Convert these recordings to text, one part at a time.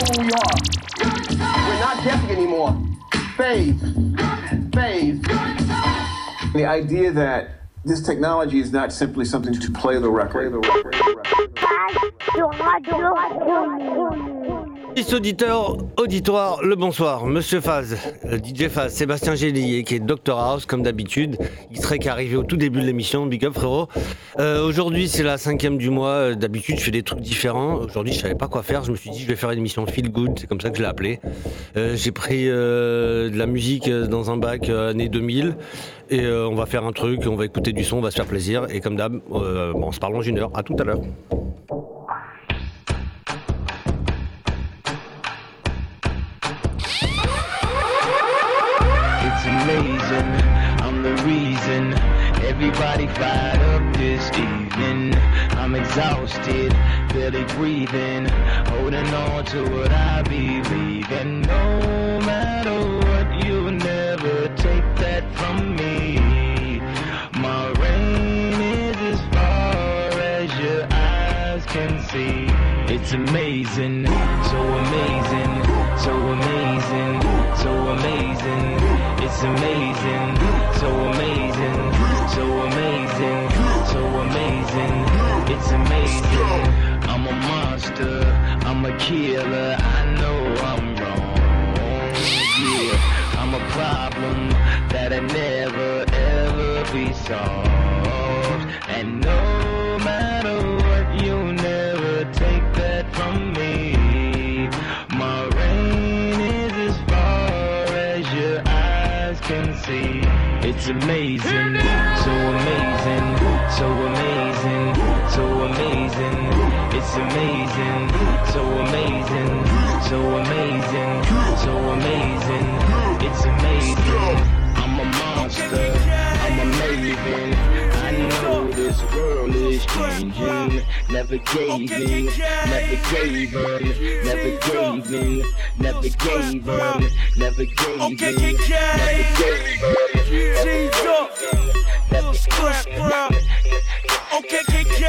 who we are. We're not guessing anymore. Phase. The idea that this technology is not simply something to play the record. Auditoire, le bonsoir, Monsieur Faz, DJ Faz, Sébastien Gélier, qui est Dr House, comme d'habitude. Il serait qu'arrivé au tout début de l'émission, big up frérot. Aujourd'hui, c'est la 5e du mois. D'habitude, je fais des trucs différents. Aujourd'hui, je savais pas quoi faire. Je me suis dit, je vais faire une émission Feel Good, c'est comme ça que je l'ai appelée. J'ai pris de la musique dans un bac année 2000. Et on va faire un truc, on va écouter du son, on va se faire plaisir. Et comme d'hab, on se parle dans une heure. À tout à l'heure. Amazing, I'm the reason everybody fired up this evening. I'm exhausted, barely breathing, holding on to what I believe in. No matter what, you'll never take that from me. My reign is as far as your eyes can see. It's amazing, so amazing, so amazing, so amazing. It's amazing, so amazing, so amazing, so amazing. It's amazing. I'm a monster, I'm a killer. I know I'm wrong. Yeah, I'm a problem that'll never ever be solved. And no matter what, you'll never take that from me. My reign is as far as your eyes can see. It's amazing, so amazing, so amazing, so amazing. It's amazing, so amazing, so amazing, so amazing. It's amazing. I'm a monster, I'm a maven. I know this world is changing. Never gave in, never gave up, never gave in, never gave up, never gave in, never gave up. G's up, little squish crowd. OKKK.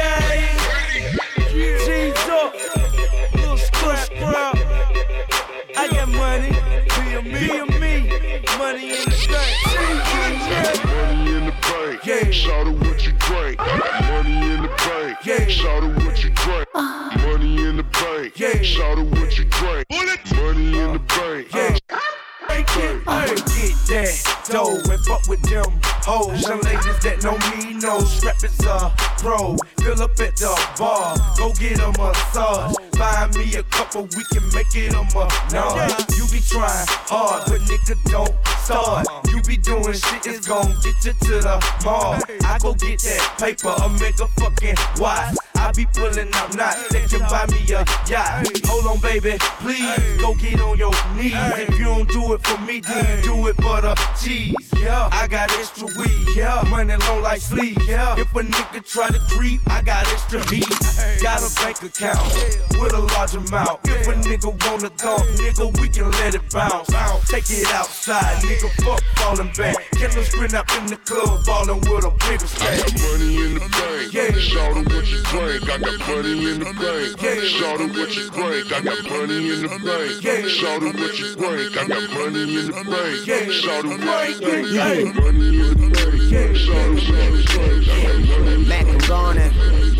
G's up, little squish crowd. I got money, be a me, money in the bank. Money in the bank, yeah. Shout out what you drink. Money in the bank, yeah. Shout out what you drink. Money in the bank, yeah. Shout out what you drink. Money in the bank, yeah. I'ma get that dough and fuck with them hoes. Some ladies that know me know Strap is a pro. Fill up at the bar, go get a massage. Find me a couple, we can make it a menage. You be trying hard, but nigga don't start. You be doing shit, it's gon' get you to the mall. I go get that paper, a mega fucking watch. I be pulling out knots that can buy me a yacht. Hold on, baby, please go get on your knees. If you don't do it for me, then you do it for the cheese. Yeah, I got extra weed. Yeah, money long like sleep. Yeah, if a nigga try to creep, I got extra heat. Got a bank account with a large amount. If a nigga wanna go, nigga, we can let it bounce. Take it outside, nigga, fuck falling back. Killer sprint up in the club, ballin' with a bigger stack. I got money in the bank, yeah. Shout out what you drink. I got money in the bank, yeah. Shout out what you drink. I got money in the bank, yeah. Shout out what you drink. I got money in the bank, yeah. Shout out what you drink. I got money in the bank, yeah. Shout out what you drink. I got money in the bank. Mac and Garner.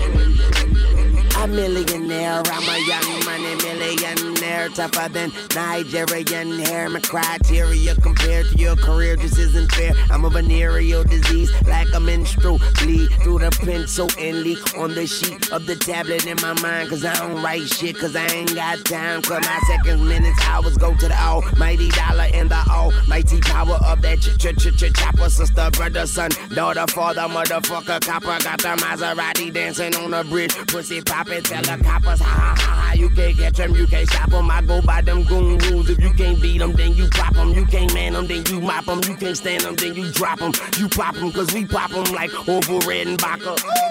I'm a millionaire, I'm a young money millionaire, tougher than Nigerian hair. My criteria compared to your career just isn't fair. I'm a venereal disease, like a menstrual bleed through the pencil and leak on the sheet of the tablet in my mind. Cause I don't write shit, cause I ain't got time. Cause my seconds, minutes, hours go to the almighty dollar and the almighty power of that chopper. Sister, brother, son, daughter, father, motherfucker, copper. Got the Maserati dancing on the bridge, pussy poppin'. Tell the coppers, ha ha ha, you can't catch them, you can't stop them. I go by them goon rules. If you can't beat them, then you pop them. You can't man them, then you mop them. You can't stand them, then you drop them. You pop them, cause we pop them like Orville Redenbacher.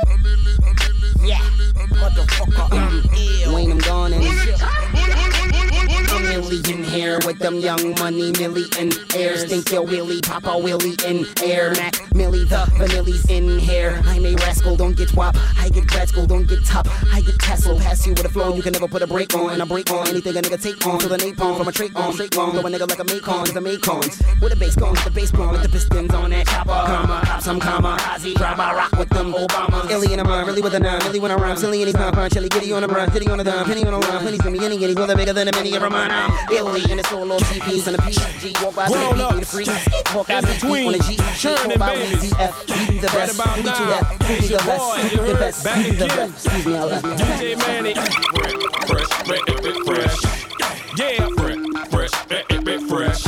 Yeah, motherfucker, I'm ill. When I'm gone and I'm millionaire, with them young money millionaires. Think you're Willie, Papa Willie in Air Mac, Millie the vanillies in hair. I'm a rascal, don't get wop. I get grad school, don't get top. I get tassel, pass you with a flow. You can never put a break on, and I break on anything a nigga take on. To the napalm from a trait on, straight on. Throw a nigga like a Macon, the Macons. With a bass gone, with the bass blown, with the pistons on that chopper. Comma, pop some comma, Ozzy, drama, rock with them Obama. Illy in a mind, really with a nine, really when I rhyme. Silly in his pop, chili, giddy on the brush, giddy on the dime, penny on the line, pennies for me, any giddy, brother bigger than a mini of a mine. I'm Illy in the solo TPs and a PG. Walk by the beat, the free. Walk out the beat on a G. Churn and Baby. You the best, you do that, you the best, you the best, you the best. Excuse me, I love you. DJ Manny. Fresh, fresh. Yeah, fresh, fresh. Fresh,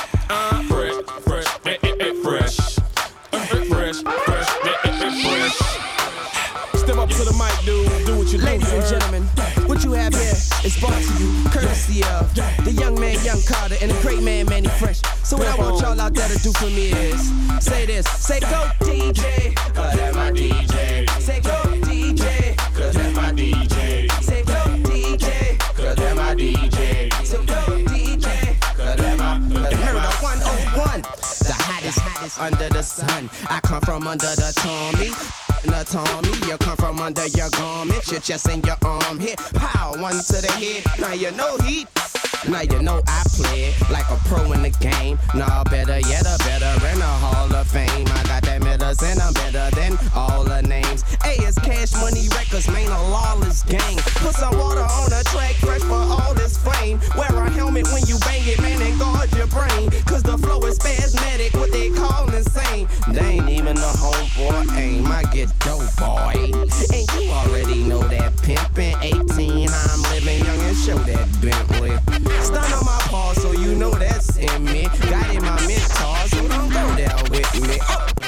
fresh. Step up to the mic, dude. Do what you do. Ladies and gentlemen, what you have here is brought to you courtesy of the young man, Young Carter, and the great man, Manny Fresh. So what I want y'all out there to do for me is say this. Say go DJ, cause that's my DJ. Say go DJ, cause that's my DJ. Say go DJ, cause that's my DJ. So go DJ, cause that's my Murder 101. The hottest under the sun. I come from under the Tommy. You come from under your garment, your chest and your arm hit. Pow, one to the head. Now you know heat. Now you know I play like a pro in the game. Nah, better yet, a better in the Hall of Fame. I got that medicine, I'm better than all the names. A is Cash Money Records, man, a lawless gang. Put some water on the track, fresh for all this flame. Wear a helmet when you bang it, man, and guard your brain. Cause the flow is spasmodic, what they call insane. They ain't even a homeboy aim, I get dope, boy. And you already know that pimpin' 18, I'm living young and show that Bentley. Stun on my paw, so you know that's in me. Got in my mentor, so don't go there with me.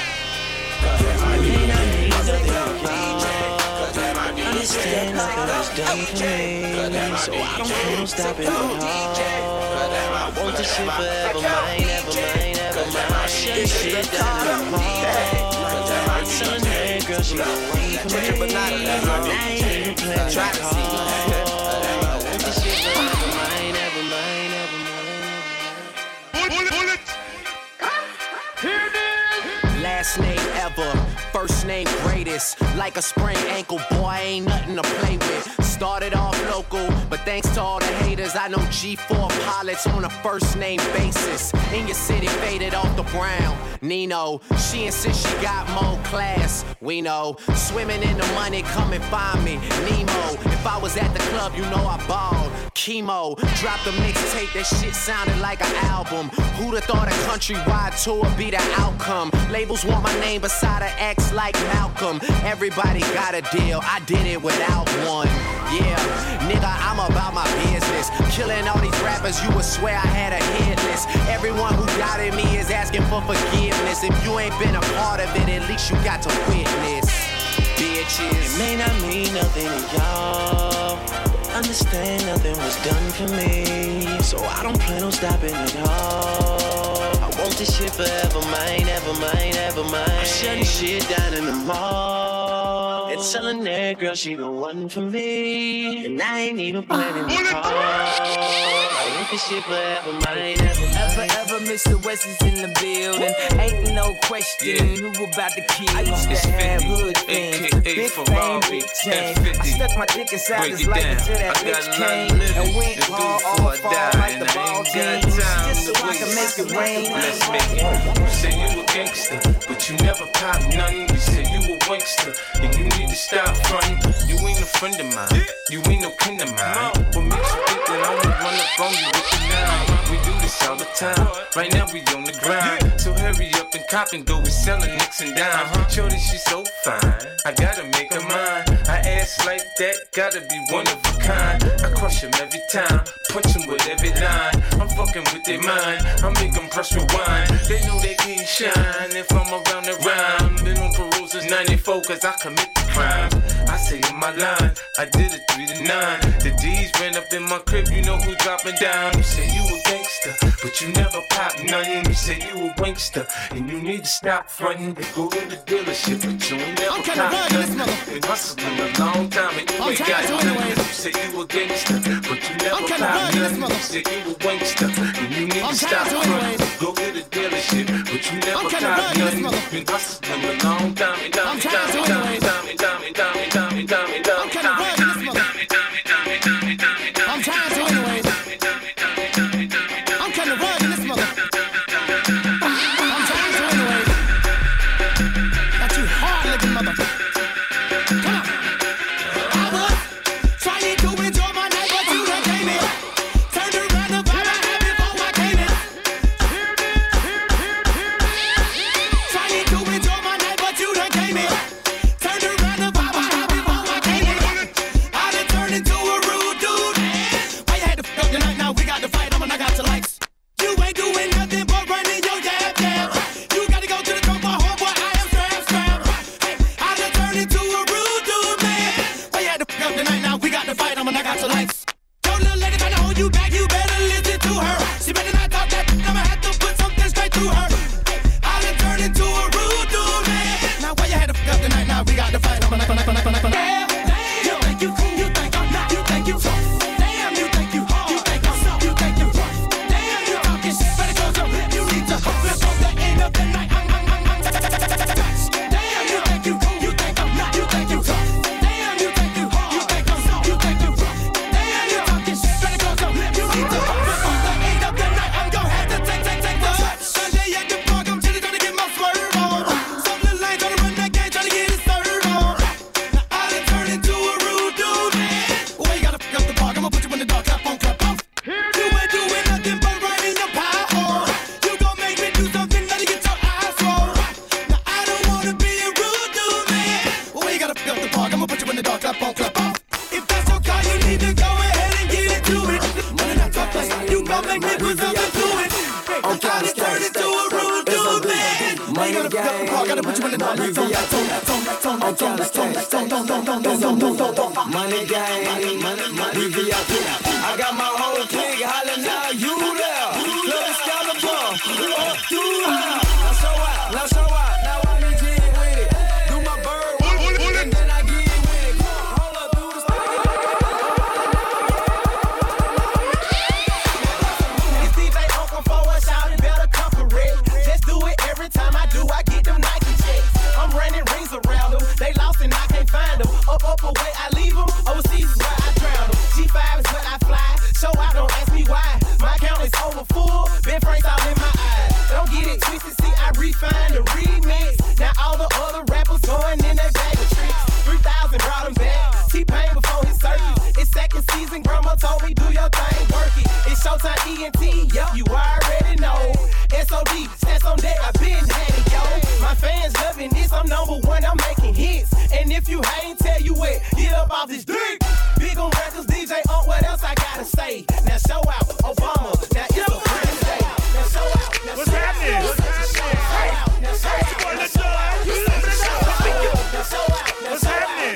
Understand nothing was done for me, so I don't plan on stopping at all. I want this shit forever, mine, ever mine, ever mine. Shut this shit down in the mall. Telling her girl she gon' wait for me. I ain't even playing the call. I want this shit forever, mine, ever mine, ever mine. Bullet! Here it is! Last name ever, first name greatest. Like a sprained ankle, boy, ain't nothing to play with. Started off local, but thanks to all the haters, I know G4 pilots on a first name basis. In your city, faded off the brown. Nino, she insists she got more class. We know, swimming in the money, come and find me. Nemo, if I was at the club, you know I balled. Chemo, dropped a mixtape, that shit sounded like an album. Who'da thought a countrywide tour be the outcome? Labels want my name beside an X like Malcolm. Everybody got a deal, I did it without one. Yeah, nigga, I'm about my business. Killing all these rappers, you would swear I had a hit list. Everyone who doubted me is asking for forgiveness. If you ain't been a part of it, at least you got to witness. Bitches. It may not mean nothing to y'all. Understand nothing was done for me, so I don't plan on stopping at all. I want this shit forever, mine, ever mine, ever mine. I'm shutting shit down in the mall. And telling that girl she the one for me, and I ain't even planning the call. I want this shit forever, mine, ever mine. Ever, Mr. West is in the building. Ain't no question who about to kill. I used to have hood things, big fame, big chain. I stuck my dick inside his life until that bitch came and went all far like the ball team, just so I can make it rain. Let's make it. You say you a gangster, but you never pop nothing. You say you a wankster, and you need to stop frontin'. You ain't a friend of mine, you ain't no kin of mine. What makes you think that I'ma run up on you with the nine? We do this all the time. Right now we on the grind, so hurry up and cop and go. We sellin' nicks and dimes. Shorty, she's so fine, I gotta make her mine. I ass like that, gotta be one of a kind. I crush him every time, punch him with every line. I'm fucking with their mind, I make them press rewind. They know they can't shine if I'm around the rhyme. Been on parole since 94 cause I commit the crime. I say in my line, I did it 3 to 9. The D's ran up in my crib, you know who dropping down. You say you a gangster, but you never pop nothing. You say you a wankster, and you need to stop frontin'. Go to the dealership, but you ain't never pop nothing. Been hustling a long time, and you ain't got nothing. You say you a gangster, but you never pop nothing. You say you a wankster, and you need to stop frontin'. Go to the dealership, but you never pop nothing. Been hustling a long time, and I'm trying to anyways. I'm kinda rugged in this mother. I'm trying to anyways. Not you hard looking mother. Come on. I was trying to enjoy my night, but you done came in. Turned around the vibe I had before I came in. Trying to enjoy my night, but you done came in. Turned around the vibe I had before I came in. I done turned into a rude dude. Why you had to fuck the night? Now we got to fight. I got your likes. You ain't doing nothing but running your jab. You gotta go to the drum, my homeboy. I am strap. Hey, I done turned into a rude dude, man. Why you had to fuck the night? Now we got to fight. I got your likes. Your little lady trying to hold you back. You better listen to her. She better not talk that. I'ma have to put something straight through her. Hey, I done turned into a rude dude, man. Now why you had to fuck the night? Now we got to fight. You think you cool? You think I'm not? You think you tough? Damn, you think you hard? You think I'm soft? You think you rough? Damn, you talking shit. Better go so you need to before the end of the night. Damn, you think you cool? You think I'm not? You think you tough? Damn, you think you hard? You think I'm soft? You think you rough? Damn, you talking shit. Better go so you need to before the end of the night. I'm gonna have to take the Sunday at the park. I'm chilling, trying to get my swerve on. Some little lane trying to run that game, trying to get his serve on. Now I done turned into a rude dude, man. Well, you gotta fuck up the park. I'ma put you in the dark, clap on, clap off. You ain't doing nothing but running your power on. You gon' make me do something that'll get your eyes rolled. Now I don't wanna be a rude dude, man. Well, you gotta fuck up the park. I'ma put you in the dark, clap on, clap off. If that's your car, you need to go ahead and get into it. Money not talk like you gon' make me put something to it. I done turned into a rude dude, man. Well, you gotta fuck up the park. Gotta put you in the dark, clap on, Money gang, money VIP. I got my whole clique hollering now, you there. Club Excalibur, up to her. Now show out, now I need to get with it. Do my bird, and then I get with it. Hold up, do the It's DJ Uncle for us, shout it better come correct. Just do it every time I do, I get them Nike checks. I'm running rings around them, they lost and I can't find them. Up away, I leave them, overseas is where I drown them. G5 is where I fly, show out, don't ask me why. My account is over full, Ben Frank's all in my eyes. Don't get it twisted, see I refine the remix. Now all the other rappers going in their bag of tricks. 3,000 brought him back, T-Pain before his circus. It's second season, grandma told me do your thing, work it. It's Showtime ENT, yup, you already know. SOD, stats on deck, I been had it, yo. My fans loving this, I'm #1, I'm making hits. And if you ain't tell you what, get up off this dick. Big on records, DJ what else I gotta say? Now show out, Obama, now it's a brand day. Now show out, now what's happening? What's happening? Now show out, now show out, now show out, what's happening?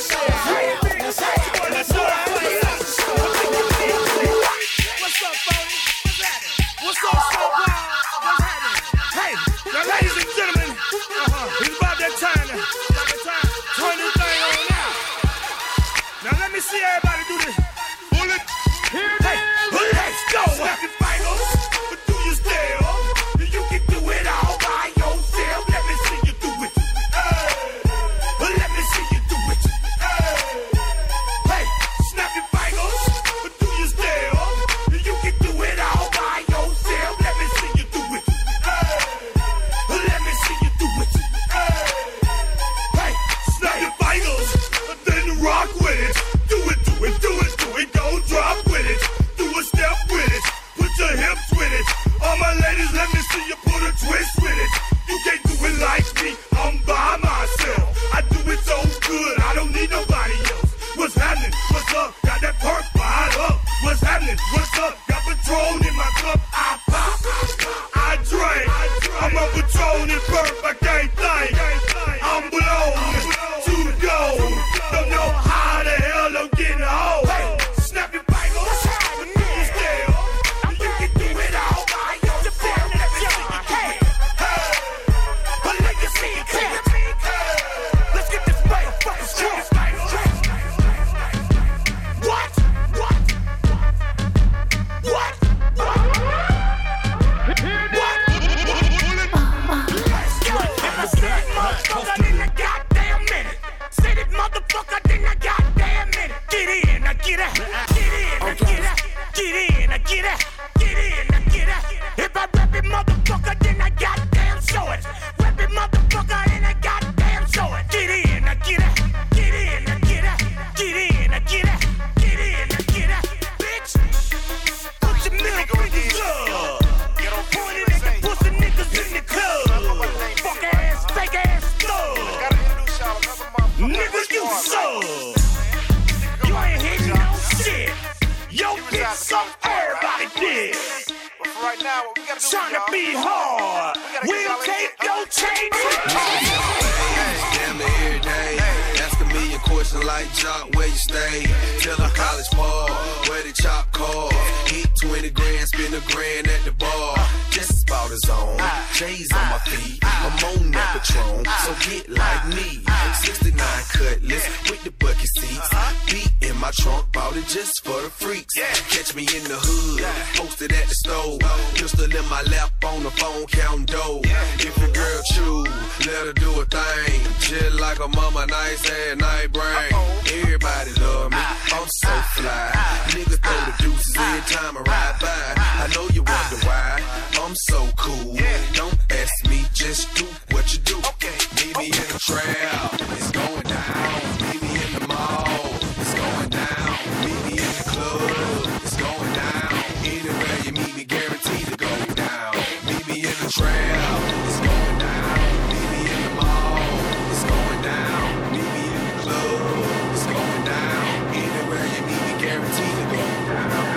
What's up, Phony? What's happening? What's up, Snowball? What's happening? Hey, now ladies and gentlemen, it's about that time now. Turn this thing on now. Now let me see everybody do this. So everybody dig. But for right now, what we gotta do, trying to be hard. We'll take your chains. Damn near every day. Ask a million questions like Jock, where you stay? Tell them college ball, where the chop call. Hit 20 grand, spend a grand at the bar. Just about his own. J's on my feet. I'm on that Patron, so get like me. 69 Cutlass with the bucket seats. Beat in my trunk, bought it just for the freaks. Catch me in the hood, posted at the stove. Pistol in my lap on the phone, counting dough. If your girl choose, let her do a thing. Just like a mama, nice and night brain. Everybody love me, I'm so fly. Nigga throw the deuces every time I ride by. I know you wonder why I'm so cool. Don't ask me, just do what you do. Meet me in the trap, it's going down. Meet me in the mall, it's going down. Meet me in the club, it's going down. Anywhere you meet me, guaranteed to go down. Meet me in the trap, it's going down. Meet me in the mall, it's going down. Meet me in the club, it's going down. Anywhere you meet me, guaranteed to go down.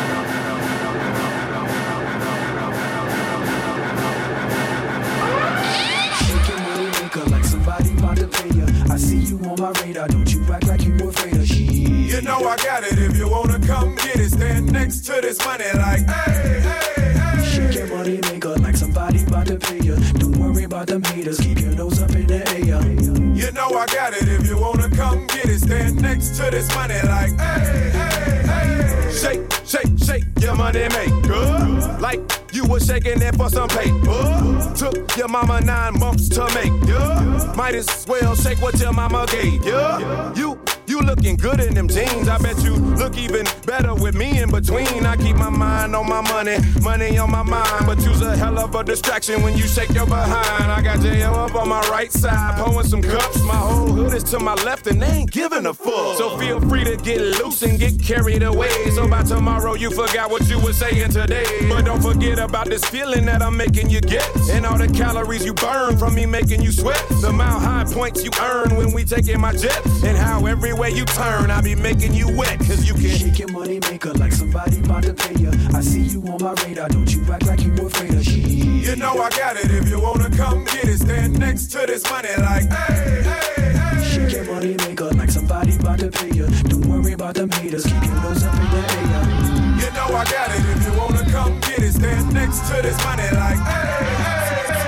I see you on my radar, don't you act like you afraid of shit. You know I got it, if you wanna come get it. Stand next to this money like, hey, hey, hey. Shake your money maker like somebody about to pay you. Don't worry about them haters, keep your nose up in the air. You know I got it, if you wanna come get it. Stand next to this money like, hey, hey, hey. Shake, shake, shake your money maker. Like you was shaking it for some paper. Took your mama 9 months to make, yeah. Might as well shake what your mama gave, yeah. You looking good in them jeans. I bet you look even better with me in between. I keep my mind on my money, money on my mind. But you's a hell of a distraction when you shake your behind. I got J.O. up on my right side, pouring some cups. My whole hood is to my left and they ain't giving a fuck. So feel free to get loose and get carried away. So by tomorrow you forgot what you were saying today. But don't forget about this feeling that I'm making you get. And all the calories you burn from me making you sweat. The mile high points you earn when we taking my jet. And how everywhere you turn, I be making you wet, cause you can shake your money maker like somebody about to pay you. I see you on my radar, don't you act like you afraid of shit. You know I got it, if you wanna come get it. Stand next to this money like, hey, hey, hey. Shake your money maker like somebody about to pay you. Don't worry about them haters, keep your nose up in the air. You know I got it, if you wanna come get it. Stand next to this money like, hey, hey.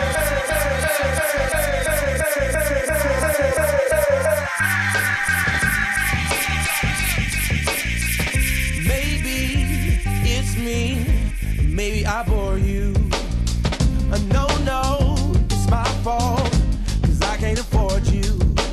Maybe I bore you. No, it's my fault, cause I can't afford you.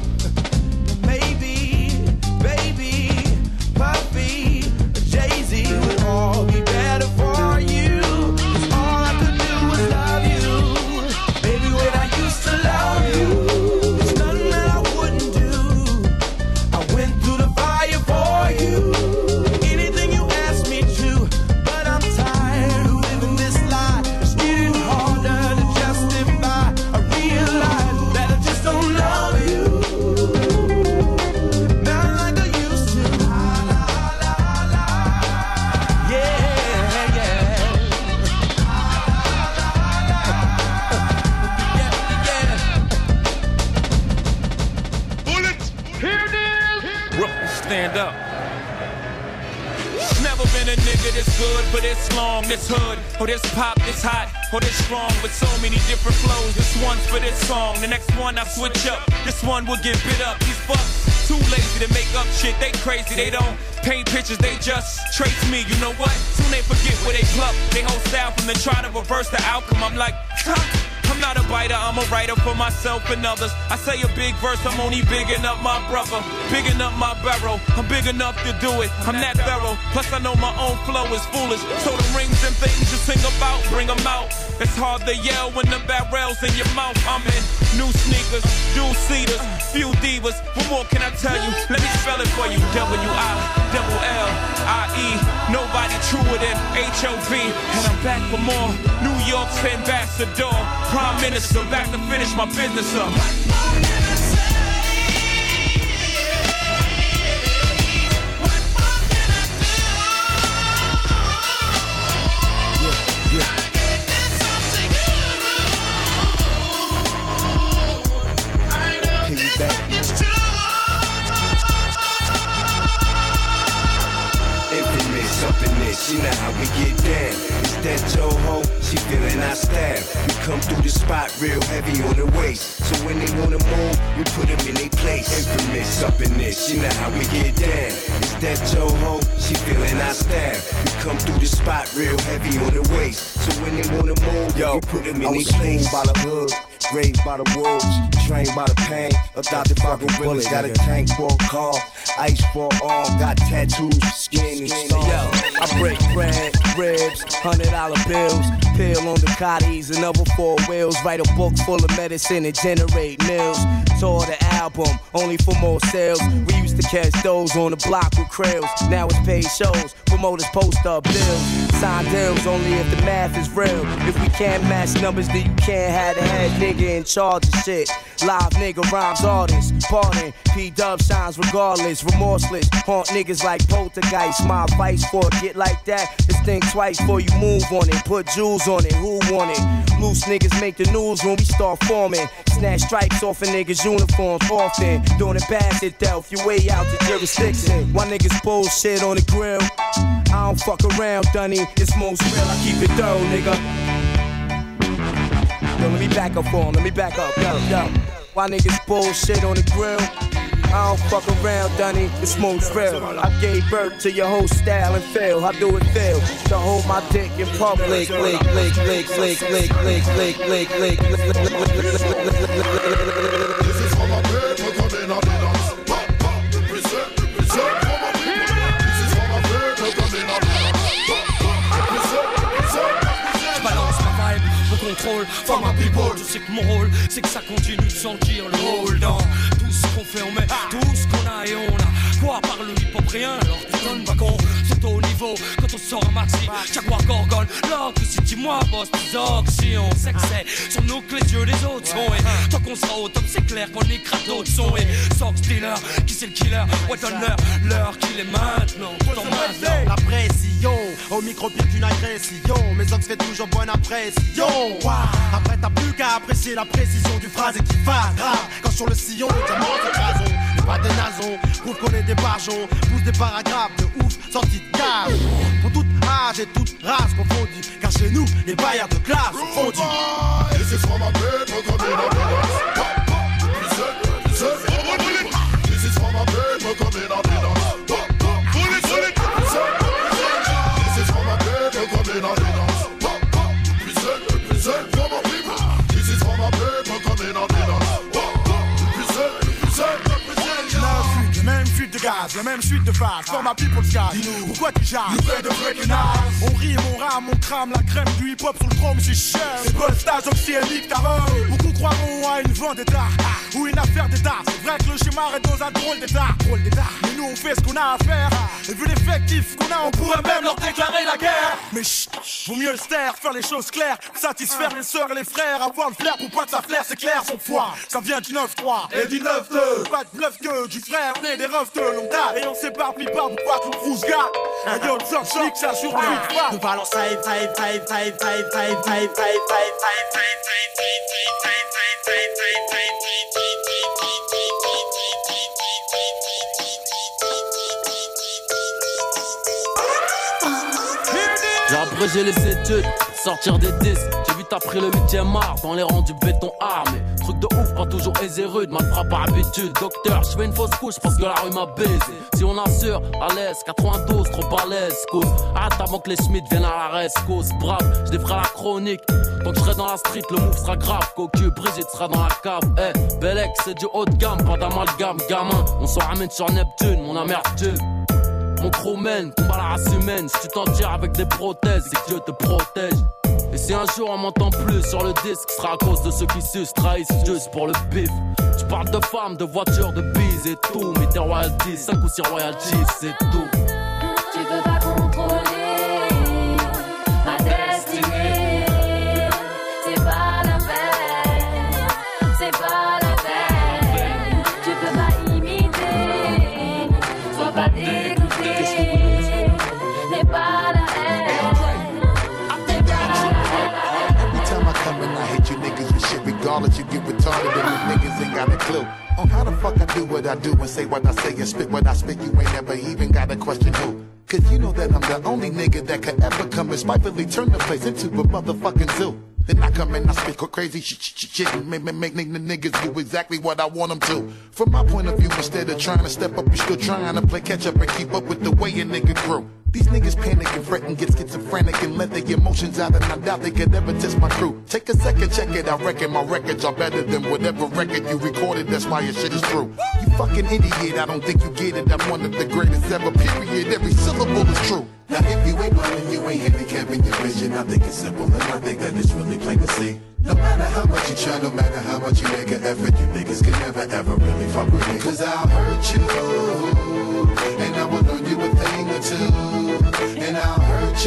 Maybe, baby, Puffy, Jay-Z would all be better for you. Cause all I could do was love you. Baby, when I used to love you, there's nothing that I wouldn't do. I went through the fire for you. Anything you asked me to. But I'm tired of living this lie. It's getting harder to justify. I realize that I just don't love you. Not like I used to. Yeah, yeah. Bullets, here it is. Rookie, stand up. Never been a nigga this good for this long, this hood, or this pop, this hot, or this strong, with so many different flows. This one's for this song, the next one I switch up. This one will get bit up. These fucks too lazy to make up shit. They crazy, they don't paint pictures, they just trace me. You know what? Soon they forget where they pluck. They whole style from the try to reverse the outcome. I'm like, I'm not a biter, I'm a writer for myself and others. I say a big verse, I'm only bigging up my brother, bigging up my barrel. I'm big enough to do it, I'm that thorough. Plus I know my own flow is foolish. So the rings and things you sing about, bring them out. It's hard to yell when the barrel's in your mouth. I'm in new sneakers, dual seaters, few divas. What more can I tell you? Let me spell it for you. W-I-double-L-I-E. Nobody truer than H-O-V. And I'm back for more. New York's ambassador, Prime Minister, back to finish my business up. up in this, you know how we get down. Is that your hoe? She feeling our style. We come through the spot real heavy on the waist. So when they wanna move, we put them in their place. Infamous up in this, you know how we get down. Is that your hoe? She feeling our style. We come through the spot real heavy on the waist. So when they wanna move, we put them in their place. By the hood, raised by the wolves, trained by the pain, adopted by gorillas. Got a tank for a car, ice for arm, got tattoos, skin and stone. Yo, I break bread, ribs, $100 bills, pill on the cotties, another 4 wheels. Write a book full of medicine and generate meals. Tour the album, only for more sales. We used to catch those on the block with krills. Now it's paid shows, promoters post up bills. Sign deals only if the math is real. If we can't match numbers, then you can't have the head nigga in charge of shit. Live nigga rhymes artists, pardon. P-Dub shines regardless, remorseless. Haunt niggas like poltergeist. My advice for a get like that is think twice before you move on it. Put jewels on it, who want it? Loose niggas make the news when we start forming. Snatch stripes off a niggas' uniforms often. Doing it bad itself, you way out the jurisdiction. Why niggas bullshit on the grill? I don't fuck around, Dunny. It's most real, I keep it thorough, nigga. Yo, let me back up for him, let me back up, yo. Why niggas bullshit on the grill? I don't fuck around, Dunny, it's most real. I gave birth to your whole style and feel. How do it feel to hold my dick in public? Lick. For my people, je sais que mon rôle, c'est que ça continue de sentir le rôle dans tout ce qu'on fait, on met tout ce qu'on a et on a. Quoi par le hip-hop rien, alors tu donnes pas qu'on saute au niveau quand on sort un maxi. Chaque fois gorgone, l'autre si dis-moi boss, tes si on sait que c'est sur nous que les yeux des autres sont. Et tant qu'on sera au top, c'est clair qu'on écrase d'autres sons. Et Sox Dealer, qui c'est le killer? Ouais, donne-leur l'heure qu'il est maintenant. La pression, au micro-pied d'une agression. Mes hommes seraient toujours bonne impression. Après t'as plus qu'à apprécier la précision du phrase et qui va grave. Quand sur le sillon, le diamant de raison. Pas des nasons, prouve qu'on est des barjons. Pousse des paragraphes de ouf, sortis de cave. Pour toute âge et toute race confondue. Car chez nous, les bailleurs de classe sont fondus. This is for my people coming up in us. This is for my people coming up in us. This is for my people coming up in us. For my people. This is for my people coming up in us. Même fuite de gaz, la même suite de phase. For my people sky. Pourquoi tu jases? Nous fait de breaking eyes. On rime, on rame, on crame la crème du hip-hop sur le chrome, c'est cher. C'est pas le stage oxyénique, ta robe. Beaucoup croiront à une vendetta ou une affaire d'état. C'est vrai que le schéma est dans un drôle d'état. Mais nous on fait ce qu'on a à faire. Et vu l'effectif qu'on a, on pourrait même leur déclarer la guerre. Mais chut, vaut mieux le taire, faire les choses claires. Satisfaire les sœurs et les frères. Avoir le flair pour pas que ça flaire, c'est clair, son foi. Ça vient du 9-3 et du 9-2. Pas de bluff que du frère, né des refs de longue date. Et on s'éparpille pas pour pas qu'on rousse gars. Un yo, le sort, je ça sur lui. Nous parlons save. J'ai abrégé les études, sortir des disques. J'ai vite appris le 8ème art dans les rangs du béton armé. Truc de ouf, pas toujours aisé rude, mal frappe par habitude. Docteur, je fais une fausse couche parce que la rue m'a baisé. Si on assure, à l'aise, 92, trop balèze, cause. Arrête avant que les Schmitt viennent à la rescousse. Brave, je défrais la chronique. Tant que je serai dans la street, le move sera grave. Cocu, Brigitte sera dans la cave. Eh, Bellec, c'est du haut de gamme, pas d'amalgame, gamin. On s'en ramène sur Neptune, mon amertume. Mon crew mène, combat la race humaine. Si tu t'en tires avec des prothèses, c'est que Dieu te protège. Et si un jour on m'entend plus sur le disque, ce sera à cause de ceux qui sucent, trahissent juste pour le bif. Je parle de femmes, de voitures, de bises et tout. Mais des royalties, 5 ou 6 royalties, c'est tout. Tu peux pas contrôler ma destinée. C'est pas la peine, c'est pas la peine. Tu peux pas imiter, sois pas dégoûté. N'est pas la haine. Every time I come in, I hit you niggas with shit. Regardless, you get retarded and you niggas ain't got a clue on how the fuck I do what I do and say what I say and spit what I spit. You ain't never even got a question who. Cause you know that I'm the only nigga that could ever come and spitefully turn the place into a motherfucking zoo. Then I come and I spit crazy shit and make the niggas do exactly what I want them to. From my point of view, instead of trying to step up, you're still trying to play catch up and keep up with the way a nigga grew. These niggas panic and fret and get schizophrenic and let their emotions out, and I doubt they could ever test my crew. Take a second, check it, I reckon my records are better than whatever record you recorded, that's why your shit is true. You fucking idiot, I don't think you get it, I'm one of the greatest ever, period, every syllable is true. Now if you ain't blind and you ain't handicapping your vision, I think it's simple and I think that it's really plain to see. No matter how much you try, no matter how much you make an effort, you niggas can never ever really fuck with me. Cause I'll hurt you, and I will learn you a thing or two. And I'll hurt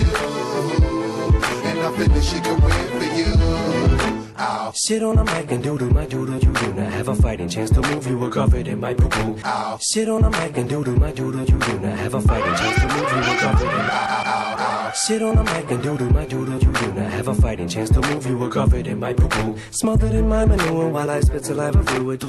you, and I'll finish your career for you. I'll sit on a mic and do my doodle. You do not have a fighting chance to move. You were covered in my poo-poo. I'll sit on a mic and do my doodle. You do not have a fighting chance to move. You were covered in my sit on a mic and do my doodle. You do not have a fighting chance to move. You were covered in my poo-poo. Smothered in my manure while I spit saliva fluid.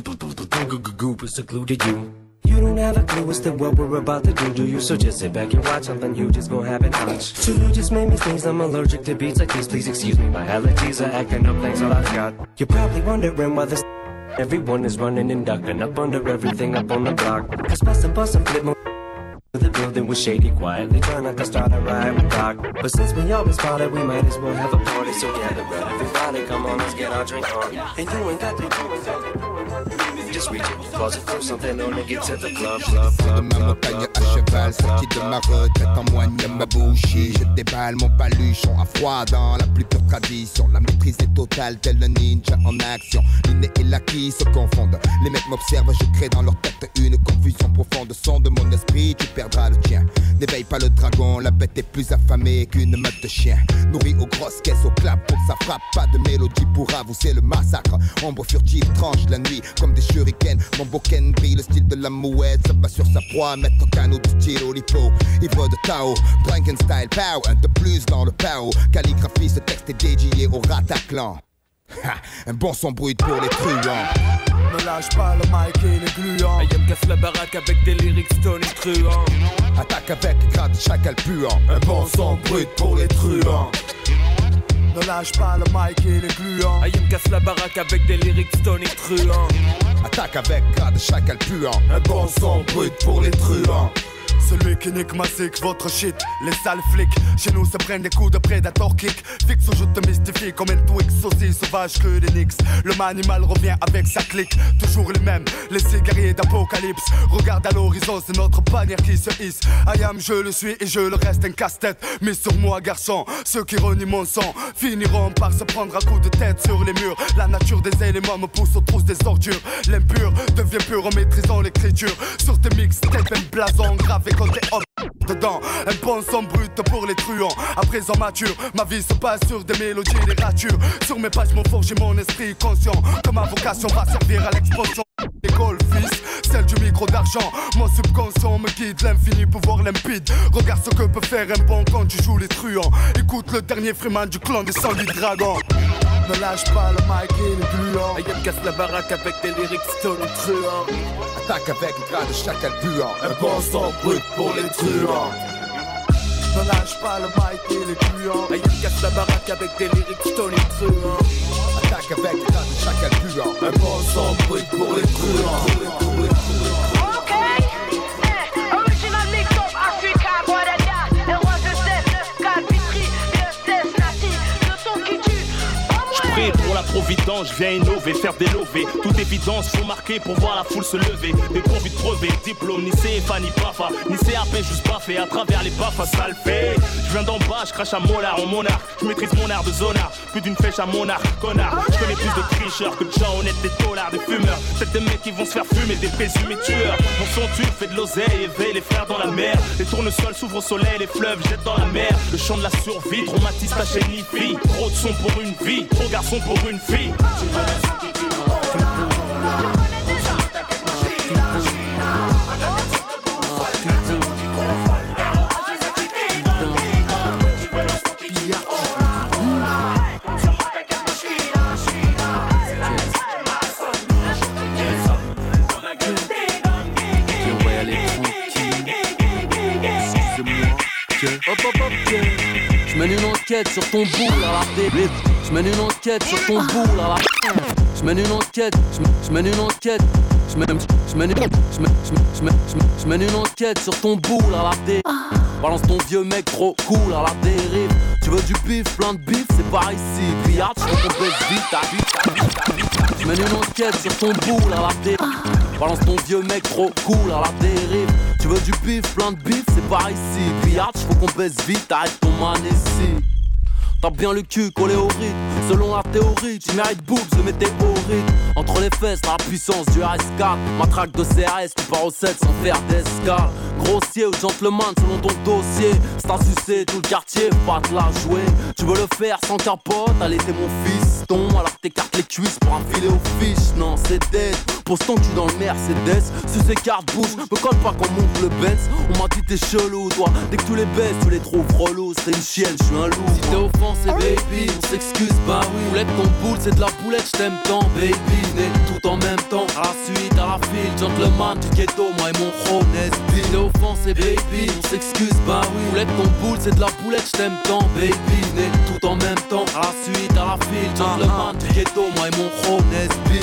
Goop is secluded you. You don't have a clue as to what we're about to do you? So just sit back and watch something you just gon' have it watch. So you just made me sneeze, I'm allergic to beats like these. Please excuse me, my allergies are acting up, thanks all I've got. You're probably wondering why this everyone is running and ducking up under everything up on the block. Cause bust and flip more. The building was shady, quietly trying not to start a riot with Doc. But since we always spotted, we might as well have a party. So gather round, everybody, come on, let's get our drink on. And you ain't got to just reach in your closet, throw something on and get to the club. De ma montagne à cheval, sorti de ma retraite en moigne ma bouchée. Je déballe mon paluchon à froid dans la plus pure tradition. La maîtrise est totale, tel un ninja en action. L'inné et l'acquis se confondent. Les mecs m'observent, je crée dans leur tête une confusion profonde. Son de mon esprit, tu perdras le tien. N'éveille pas le dragon, la bête est plus affamée qu'une meute de chiens. Nourrie aux grosses caisses, au clap pour que ça frappe. Pas de mélodie pour avouer le massacre. Ombre furtive tranche la nuit comme des shurikens. Mon boken brille le style de la mouette. Se bat sur sa proie, mettre au canot du style Olipo. Ivre de Tao, Drunken Style Pow. Un de plus dans le Pao. Calligraphie, ce texte est dédié au Rataclan. Un bon son brut pour les truands. Ne lâche pas le mic et les gluants. Ayam casse la baraque avec des lyrics Tony truands. Attaque avec grade chacal puant. Un bon son brut pour les truands. Ne lâche pas le mic et les gluants. Ayam casse la baraque avec des lyrics Tony truands. Attaque avec grade chacal puant. Un bon son brut pour les truands. Celui qui nique ma sick, votre shit, les sales flics. Chez nous se prennent des coups de prédator kick. Fixe ou je te mystifie comme un Twix, aussi sauvage que des Knicks. Le manimal revient avec sa clique, toujours les mêmes, les cigariers d'apocalypse. Regarde à l'horizon, c'est notre bannière qui se hisse. I am, je le suis et je le reste un casse-tête. Mais sur moi garçon, ceux qui renient mon sang finiront par se prendre un coup de tête sur les murs. La nature des éléments me pousse aux trousses des ordures. L'impur devient pur en maîtrisant l'écriture. Sur tes mixtapes, un blason gravé côté hop dedans, un bon son brut pour les truands. À présent mature, ma vie se passe sur des mélodies, des ratures. Sur mes pages m'ont forgé mon esprit conscient, que ma vocation va servir à l'expansion. École fils, celle du micro d'argent. Mon subconscient me guide, l'infini pouvoir limpide. Regarde ce que peut faire un bon quand tu joues les truands. Écoute le dernier Freeman du clan des sangliers dragons. Ne lâche pas le mic et les gluants. Ayam casse la baraque avec des lyrics Tony truands. Attaque avec grade chacal puant. Un bon son brut pour les truands. Ne lâche pas le mic et les gluants. Ayam casse la baraque avec des lyrics Tony truands. Attaque avec grade chacal puant. Un bon son brut pour les truands. Pour la providence, je viens innover, faire des lovés. Toute évidence, faut marquer pour voir la foule se lever. Des convicts crevés, diplôme, ni CFA, ni PAFA, ni CAP, juste baffé à travers les baffes, ça le fait. Je viens d'en bas, je crache à molar en monarque. Je maîtrise mon art de zonard, plus d'une flèche à monarque, connard. Je connais plus de tricheurs que de gens honnêtes, des dollars, des fumeurs. C'est des mecs qui vont se faire fumer, des présumés tueurs. Mon son tue, fait de l'oseille, éveille les frères dans la mer. Les tournesols s'ouvrent au soleil, les fleuves jettent dans la mer. Le chant de la survie, traumatise ta chaîne fille. Trop de son pour une vie, trop garçon pour une fille. J'mène une enquête sur ton boule à la télé. J'mène une enquête sur ton boule à la. J'mène une enquête, j'mène une enquête. J'mène une enquête sur ton boule à la télé. Balance ton vieux mec trop cool à la dérive. Tu veux du bif, plein de bif, c'est par ici. Pillard, j'fais qu'on baisse vite, J'mène une enquête sur ton boule à la télé. Balance ton vieux mec trop cool à la dérive. Tu veux du bif, plein de bif, c'est par ici. Pillard, faut qu'on baisse vite, arrête ton man ici. T'as bien le cul collé au rythme. Selon la théorie, tu mérites boobs de météorite. Entre les fesses, la puissance du RS4. Matraque de CRS, tu pars au 7 sans faire d'escale. Grossier ou gentleman selon ton dossier. C'est à sucer tout le quartier, pas te la jouer. Tu veux le faire sans capote, allez t'es mon fiston. Alors que t'écartes les cuisses pour un filet aux fiches. Non c'est dead, pose ton cul dans le Mercedes. Si ces cartes bougent, me colle pas qu'on monte le Benz. On m'a dit t'es chelou toi, dès que tu les baisses tu les trouves relous. C'est une chienne, je suis un loup. Si t'es offensé baby, on s'excuse bah oui. Boulette ton boule c'est de la boulette, j't'aime tant baby. Venez tout en même temps, à la suite, à la file. Gentleman du ghetto, moi et mon chrome Nesby. T'es offensé baby, on s'excuse bah oui. Boulette ton boule c'est de la boulette, j't'aime tant baby. Venez tout en même temps, à la suite, à la file. Gentleman du ghetto, moi et mon chrome Nesby.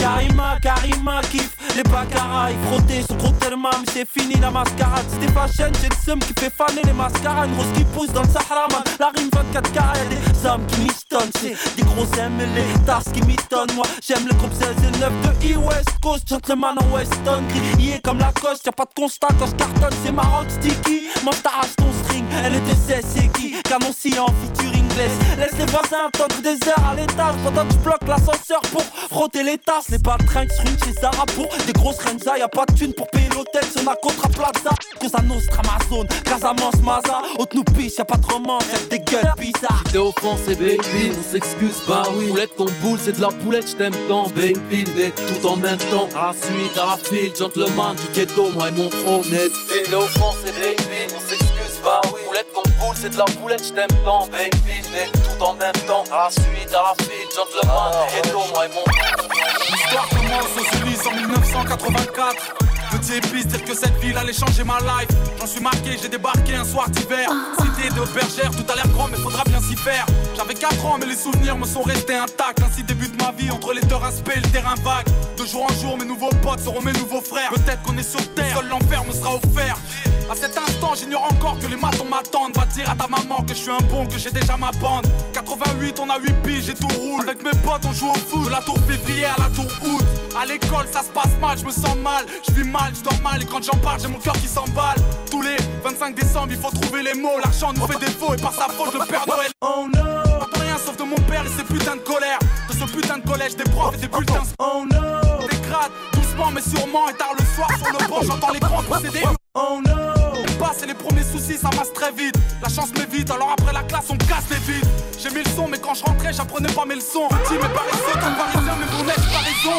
Karima kiffe les baccaras, il frottait son gros tellement mais c'est fini la mascarade. C'était fashion, j'ai le seum qui fait faner les mascaras. Une rose qui pousse dans le Sahara man. La rime 24 carats, y'a des âmes qui mistonnent. C'est des gros aimes et les tasses qui m'étonnent. Moi j'aime le groupe 16 et 9 de E-West Coast. Gentleman en Weston, grillé comme la coste. Y'a pas de constat quand je cartonne, c'est ma rock sticky. Moi t'arrache ton string, elle était 16 c'est qui. Canon en featuring bless. Laisse les voisins attendre des heures à l'étage. Pendant que je bloque l'ascenseur pour frotter les tasses. Les baltringues se ruinent chez Zara pour des grosses Renza. Y'a pas de thune pour payer l'hôtel sur la Contra Plaza. Cosa Nostra, Amazon, Casamance, Maza. Haute nous piche, y'a pas de romance, y'a des gueules bizarres. T'es offensé baby, on s'excuse bah oui. Boulette ton boule c'est de la boulette, j't'aime tant baby. Venez tout en même temps, à la suite, à la file. Gentleman du ghetto, moi et mon chrome Nesby. T'es offensé baby, on s'excuse bah oui. Boulette ton boule c'est de la boulette, j't'aime tant baby. Venez tout en même temps, à la suite, à la file. Gentleman du ghetto, moi et mon chrome. L'histoire commence aux Ulysses en 1984. Petit épice, dire que cette ville allait changer ma life. J'en suis marqué, j'ai débarqué un soir d'hiver. Cité de bergère, tout a l'air grand mais faudra bien s'y faire. J'avais 4 ans mais les souvenirs me sont restés intacts. Ainsi débute ma vie entre les terrains spé et le terrain vague. De jour en jour mes nouveaux potes seront mes nouveaux frères. Peut-être qu'on est sur terre, seul l'enfer me sera offert. À cet instant j'ignore encore que les matons m'attendent. Va dire à ta maman que je suis un bon, que j'ai déjà ma bande. 88 on a 8 piges et tout roule. Avec mes potes on joue au foot, de la tour février à la tour août. À l'école ça se passe mal, je me sens mal. Je vis mal, je dors mal et quand j'en parle j'ai mon cœur qui s'emballe. Tous les 25 décembre il faut trouver les mots. L'argent nous fait défaut et par sa faute le Père Noël. Oh no, pas rien sauf de mon père et ses putains de colère. De ce putain de collège, des profs et des bulletins. Oh no, des grades, doucement mais sûrement. Et tard le soir sur le banc j'entends les grands procéder. Oh no, on passe et les premiers soucis ça masse très vite. La chance m'évite alors après la classe on casse les vides. J'ai mis le son mais quand je rentrais j'apprenais pas mes leçons. Petit mais paresseux comme parisien mais pour n'être pas raison.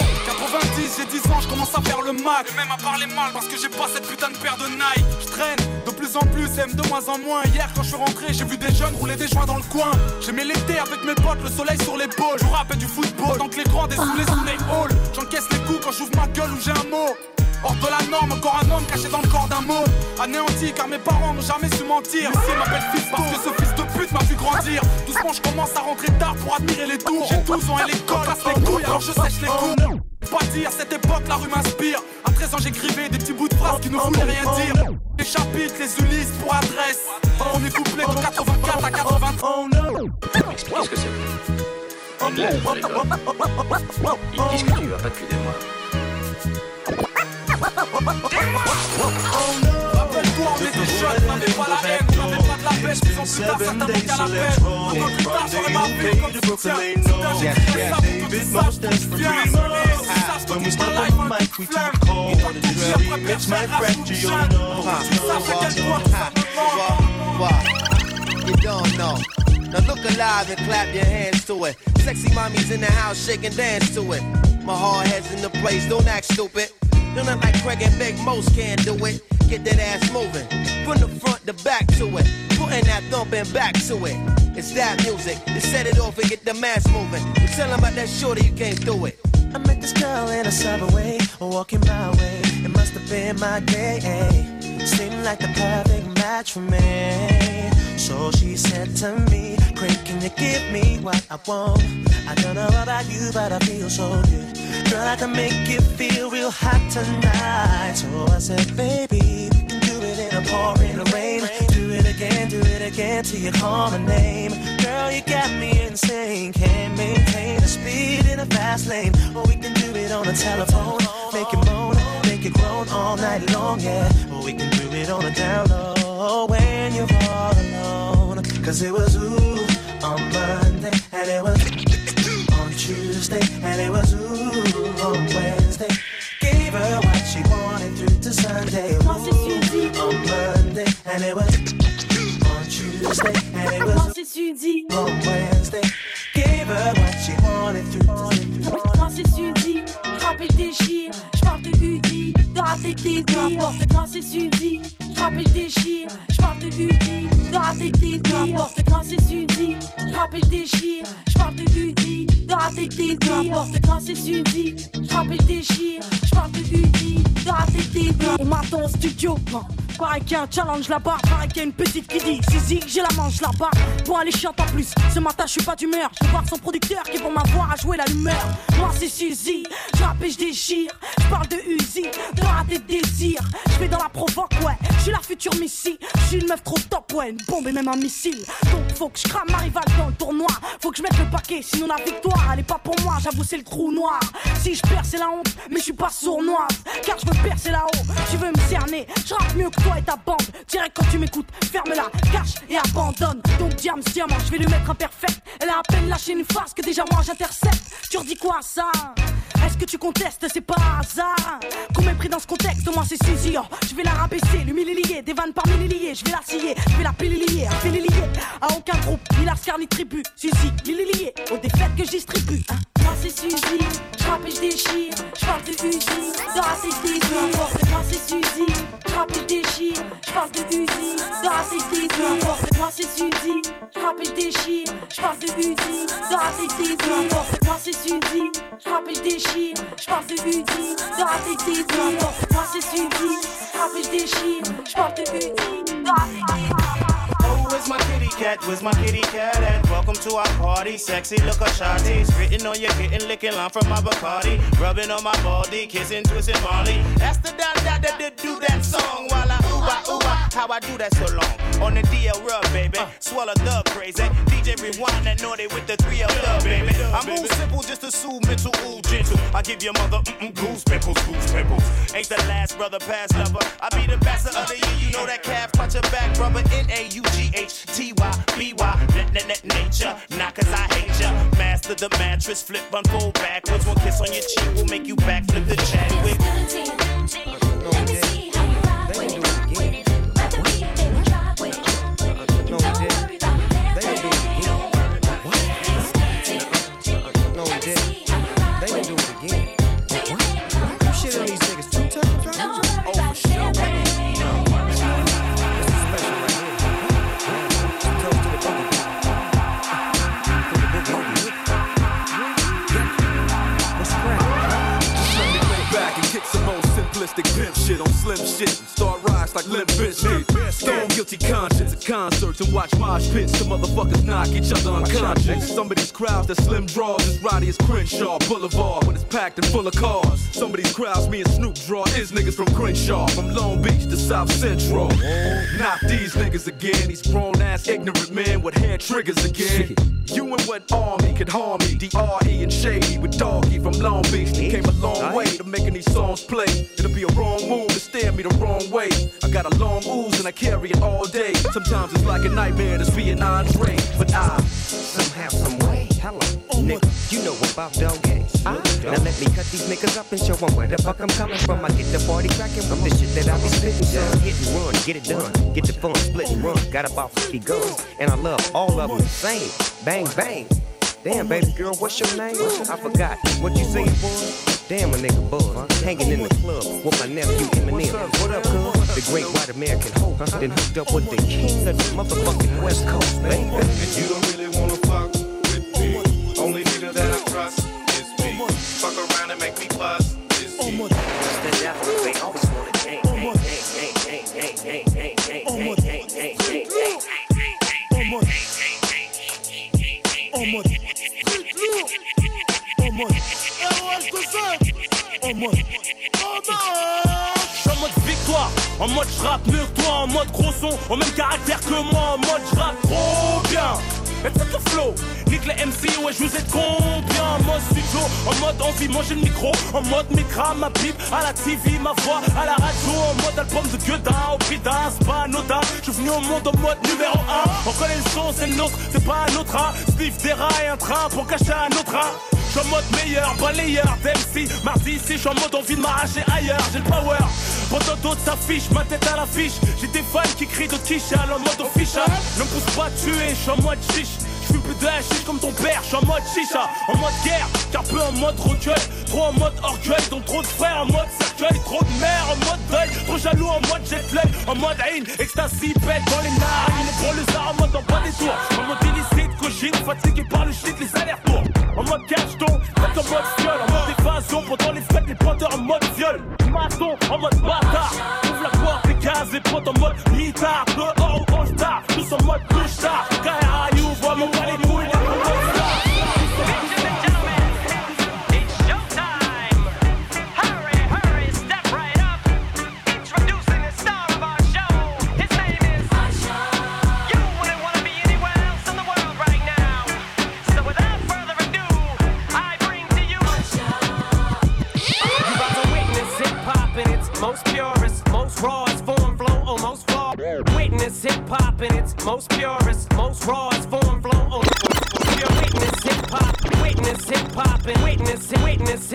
90 j'ai 10 ans je commence à faire le Mac. Et même à parler mal parce que j'ai pas cette putain de paire de Nike. Je traîne de plus en plus et de moins en moins. Hier quand je suis rentré j'ai vu des jeunes rouler des joints dans le coin. J'ai mis l'été avec mes potes, le soleil sur l'épaule. Je rappelle du football tant que les grands dessoulés sous les halls. J'encaisse les coups quand j'ouvre ma gueule ou j'ai un mot. Hors de la norme, encore un homme caché dans le corps d'un mot. Anéanti car mes parents n'ont jamais su mentir. Ici m'appelle fils parce que ce fils de pute m'a vu grandir. Doucement je commence à rentrer tard pour admirer les tours. J'ai 12 ans et l'école casse les couilles alors je sèche les coups. Pas dire, à cette époque la rue m'inspire. À 13 ans j'écrivais des petits bouts de phrases qui ne voulaient rien dire. Les chapitres, les Ulysses pour adresse. On est couplé de 84 à 80. Oh no. Explique ce que c'est. On lève les gars. Ils disent que tu vas pas depuis des mois. Rappelle-toi, on était jeunes, on n'avait pas la haine, on n'avait pas de la pêche, ils ont plus tard, certains manquent à la peine. Un peu plus tard, j'aurais ma vie comme soutien. Soudain, j'ai créé ça pour que tu saches d'où je viens. Sache que toute ma life, un coup de flamme. On va te dire après personne, reste tout jeune. Tu saches à quel point ça me manque. You don't know. Now look alive and clap your hands to it. Sexy mommies in the house, shake and dance to it. My hard head's in the place, don't act stupid. Don't act like Craig and Big Most can't do it. Get that ass moving, from the front to back to it. Putting that thumping back to it. It's that music, to set it off and get the mass moving. You tell them about that shorty, you came through it. I met this girl in a subway, walking my way. It must have been my day. Seemed like the perfect match for me. So she said to me, Craig, can you give me what I want? I don't know about you, but I feel so good. Girl, I can make you feel real hot tonight. So I said, baby, we can do it in a pouring rain. Do it again till you call my name. Girl, you got me insane. Can't maintain the speed in a fast lane. Or we can do it on the telephone. Make it moan, make it groan all night long, yeah. Or we can do it on the down low when you're all alone. Cause it was ooh on Monday, and it was on Tuesday, and it was ooh on Wednesday. Gave her what she wanted through to Sunday. Ooh on Monday, and it was on Tuesday, and it was on Wednesday. Gave her what she wanted through to Sunday. Quand c'est Suzy, j'rappe et déchire. J'parle de Udi, de rater tes dires. N'importe quand c'est Suzy, j'rappe et déchire. J'parle de Udi, de rater tes dires. N'importe quand c'est Suzy, j'rappe et déchire. J'parle de Udi, de rater tes dires. N'importe quand c'est Suzy, j'rappe et déchire. J'parle de Udi, de rater tes dires. On m'attend au studio, pareil qu'il y a un challenge là-bas, pareil qu'il y a une petite qui dit Suzy, j'ai la manche là-bas. Bon, elle est chiante en plus, ce matin je suis pas d'humeur. Je vais voir son producteur qui est pour m'avoir à jouer l'allumeur. Moi c'est Suzy, j'rappe et je déchire. Je parle de Uzi, de rater de désir. Je vais dans la provoque, ouais, je suis la future Missy. Je suis une meuf trop top, ouais, une bombe et même un missile. Donc faut que je crame ma rivale dans le tournoi. Faut que je mette le paquet, sinon la victoire elle est pas pour moi, j'avoue c'est le trou noir. Si je perds c'est la honte, mais je suis pas sournoise. Car je veux percer là-haut, tu veux me cerner. Je rappe mieux que toi et ta bande. Direct quand tu m'écoutes, ferme-la, cache et abandonne. Donc diamant, je vais lui mettre un perfect. Elle a à peine lâché une phrase que déjà moi j'intercepte. Tu redis quoi à ça? Est-ce que tu contestes? C'est pas un hasard qu'on m'ait pris dans ce contexte. Moi c'est Suzy, oh, je vais la rabaisser. L'humilier, des vannes par milliers. Je vais la scier, je vais la pilier. Affilier à aucun groupe, ni Lascar ni tribu. Suzy, lié aux défaites que je distribue, hein. Moi c'est Suzy, j'rappe et je déchire. J'parle de Uzi, de rater tes dires. Moi c'est Suzy, j'rappe et je déchire. J'parle de Uzi, de rater tes dires. Moi c'est Suzy, j'rappe et je déchire. J'parle de Uzi, de rater tes dires. Moi c'est Suzy, j'rappe et je déchire. J'parle de Uzi, de rater tes dires. Moi c'est Suzy, j'rappe et je déchire. J'parle de Uzi, de rater tes dires. Oh, where's my kitty cat? Where's my kitty cat at? Welcome to our party. Sexy look of shawty. Spitting on your kitten, licking line from my Bacardi. Rubbing on my baldy, kissing, twisting Molly. That's the that do that song while I ooh how I do that so long. On the DL rub, baby. Swallow the crazy. DJ rewind that naughty with the 3L dub, baby. I move simple just to soothe mental, ooh, gentle. I give your mother goose pimples. Ain't the last brother past lover. I be the best of the year, you know that calf punch your back, brother. NAUGHTYBY, net nature, not cause I hate ya. Master the mattress, flip, unfold backwards. One kiss on your cheek will make you backflip the Chadwick. Let me see how you ride with it. Rather be a baby, drive with it. Don't worry about that. They gon' do it again. What? No, they gon' do it again. What? You shit on these niggas 2 times, right? Oh, for sure. Pimp shit on slim shit and start rise like Limp Bizkit. Stone guilty conscience at concerts and watch mosh pits. Some motherfuckers knock each other unconscious. Some of these crowds that slim draws is rowdy as Crenshaw Boulevard when it's packed and full of cars. Some of these crowds me and Snoop draw is niggas from Crenshaw, from Long Beach to South Central. Not these niggas again, these grown ass ignorant men with hair triggers again. You and what army could harm me? D.R.E. and Shady with Doggy from Long Beach. They came a long way to making these songs play. It'll be a wrong move to stare me the wrong way. I got a long ooze and I carry it all day. Sometimes it's like a nightmare to be an Andre, but I somehow, some way. Hello, nigga, you know about dog games. Now let me cut these niggas up and show them where the fuck I'm coming from. I get the party cracking from the shit that I be spitting. Son, hit and run, get it done, get the fun, split and run. Got about 50 guns, and I love all of them the same. Bang, bang. Damn, baby girl, what's your name? I forgot. What you say, boy? Damn, a nigga buzz. Hanging in the club with my nephew Eminem. What up, cuz? The great white American hope. Then hooked up with the king of the motherfucking West Coast, baby. And you don't really wanna fuck with me. Only nigga that I trust is me. Fuck around and make me bust is me. What's the devil? They always wanna mode. En mode. En mode. En mode. En mode victoire, en mode j'rappe mieux que toi, en mode gros son, au même caractère que moi, en mode j'rappe trop bien. Et c'est le flow, nique les MC, ouais je vous ai combien. En mode studio, en mode envie, manger le micro, en mode micra, ma pipe, à la TV, ma voix, à la radio, en mode album de Gueudin, au prix d'un, c'est pas anodin. Je suis venu au monde en mode numéro 1, on connaît le son, c'est le nôtre, c'est pas un autre, hein. Sniff des rats et un train pour cacher un autre, hein. Je suis en mode meilleur, balayeur d'MC. Mardi ici, je suis en mode envie de m'arracher ailleurs. J'ai le power, pendant d'autres s'affichent, ma tête à l'affiche. J'ai des fans qui crient de Tichal en mode official. Ne me pousse pas à tuer, je suis en mode chiche. Je fume plus de hashish comme ton père, je suis en mode chicha. En mode guerre, car peu en mode recueil. Trop en mode orgueil, donc trop de frères en mode cercueil. Trop de mères en mode deuil, trop jaloux en mode jet lag. En mode haine, ecstasy, pète dans les narines. Les gros lézards en mode en bas des tours. En mode illicite, cochine, fatigué par le shit, les allers-retours. En mode cacheton, en mode fiole. En mode évasion, pendant les fêtes, les pointeurs en mode viol. Maçon, en mode bâtard. Ouvre la porte, les cases, les potes en mode mitard. Dehors ou all-star, tous en mode couche-tard. KRA, you, vois mon pas les couilles, les all-star. Most purest, most rawest form, flow, almost flawed. Witness hip hop in its most purest, most rawest form, flow, almost pure. Witness hip hop, witness hip hop, and witness hip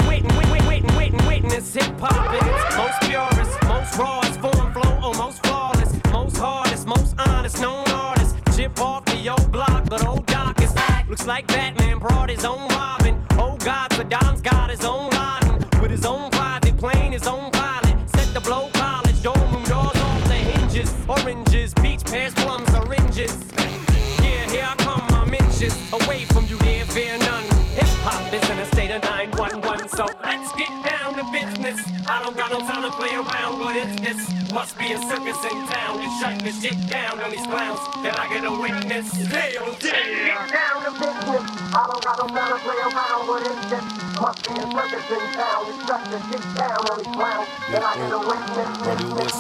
hop in its most purest, most rawest form, flow, almost flawless. Most hardest, most honest, known artist. Chip off the old block, but old Doc is back. Looks like Batman brought his own Robin. Oh God, Saddam's got his own Laden with his own private plane, his own pilot. The blow college, dorm room doors off the hinges. Oranges, peach, pears, plums, oranges. Yeah, here I come, I'm inches away from you, dear, fear none. Hip hop is in a state of 911, so let's get down to business. I don't got no time to play around, but it's this. Must be a circus in town to shut this shit down on these clowns. Can I get a witness? Hell yeah! Get down to business. I don't got no time to play around, but it's this. Must be a circus in town to shut this shit down on these clowns. Can I get a witness?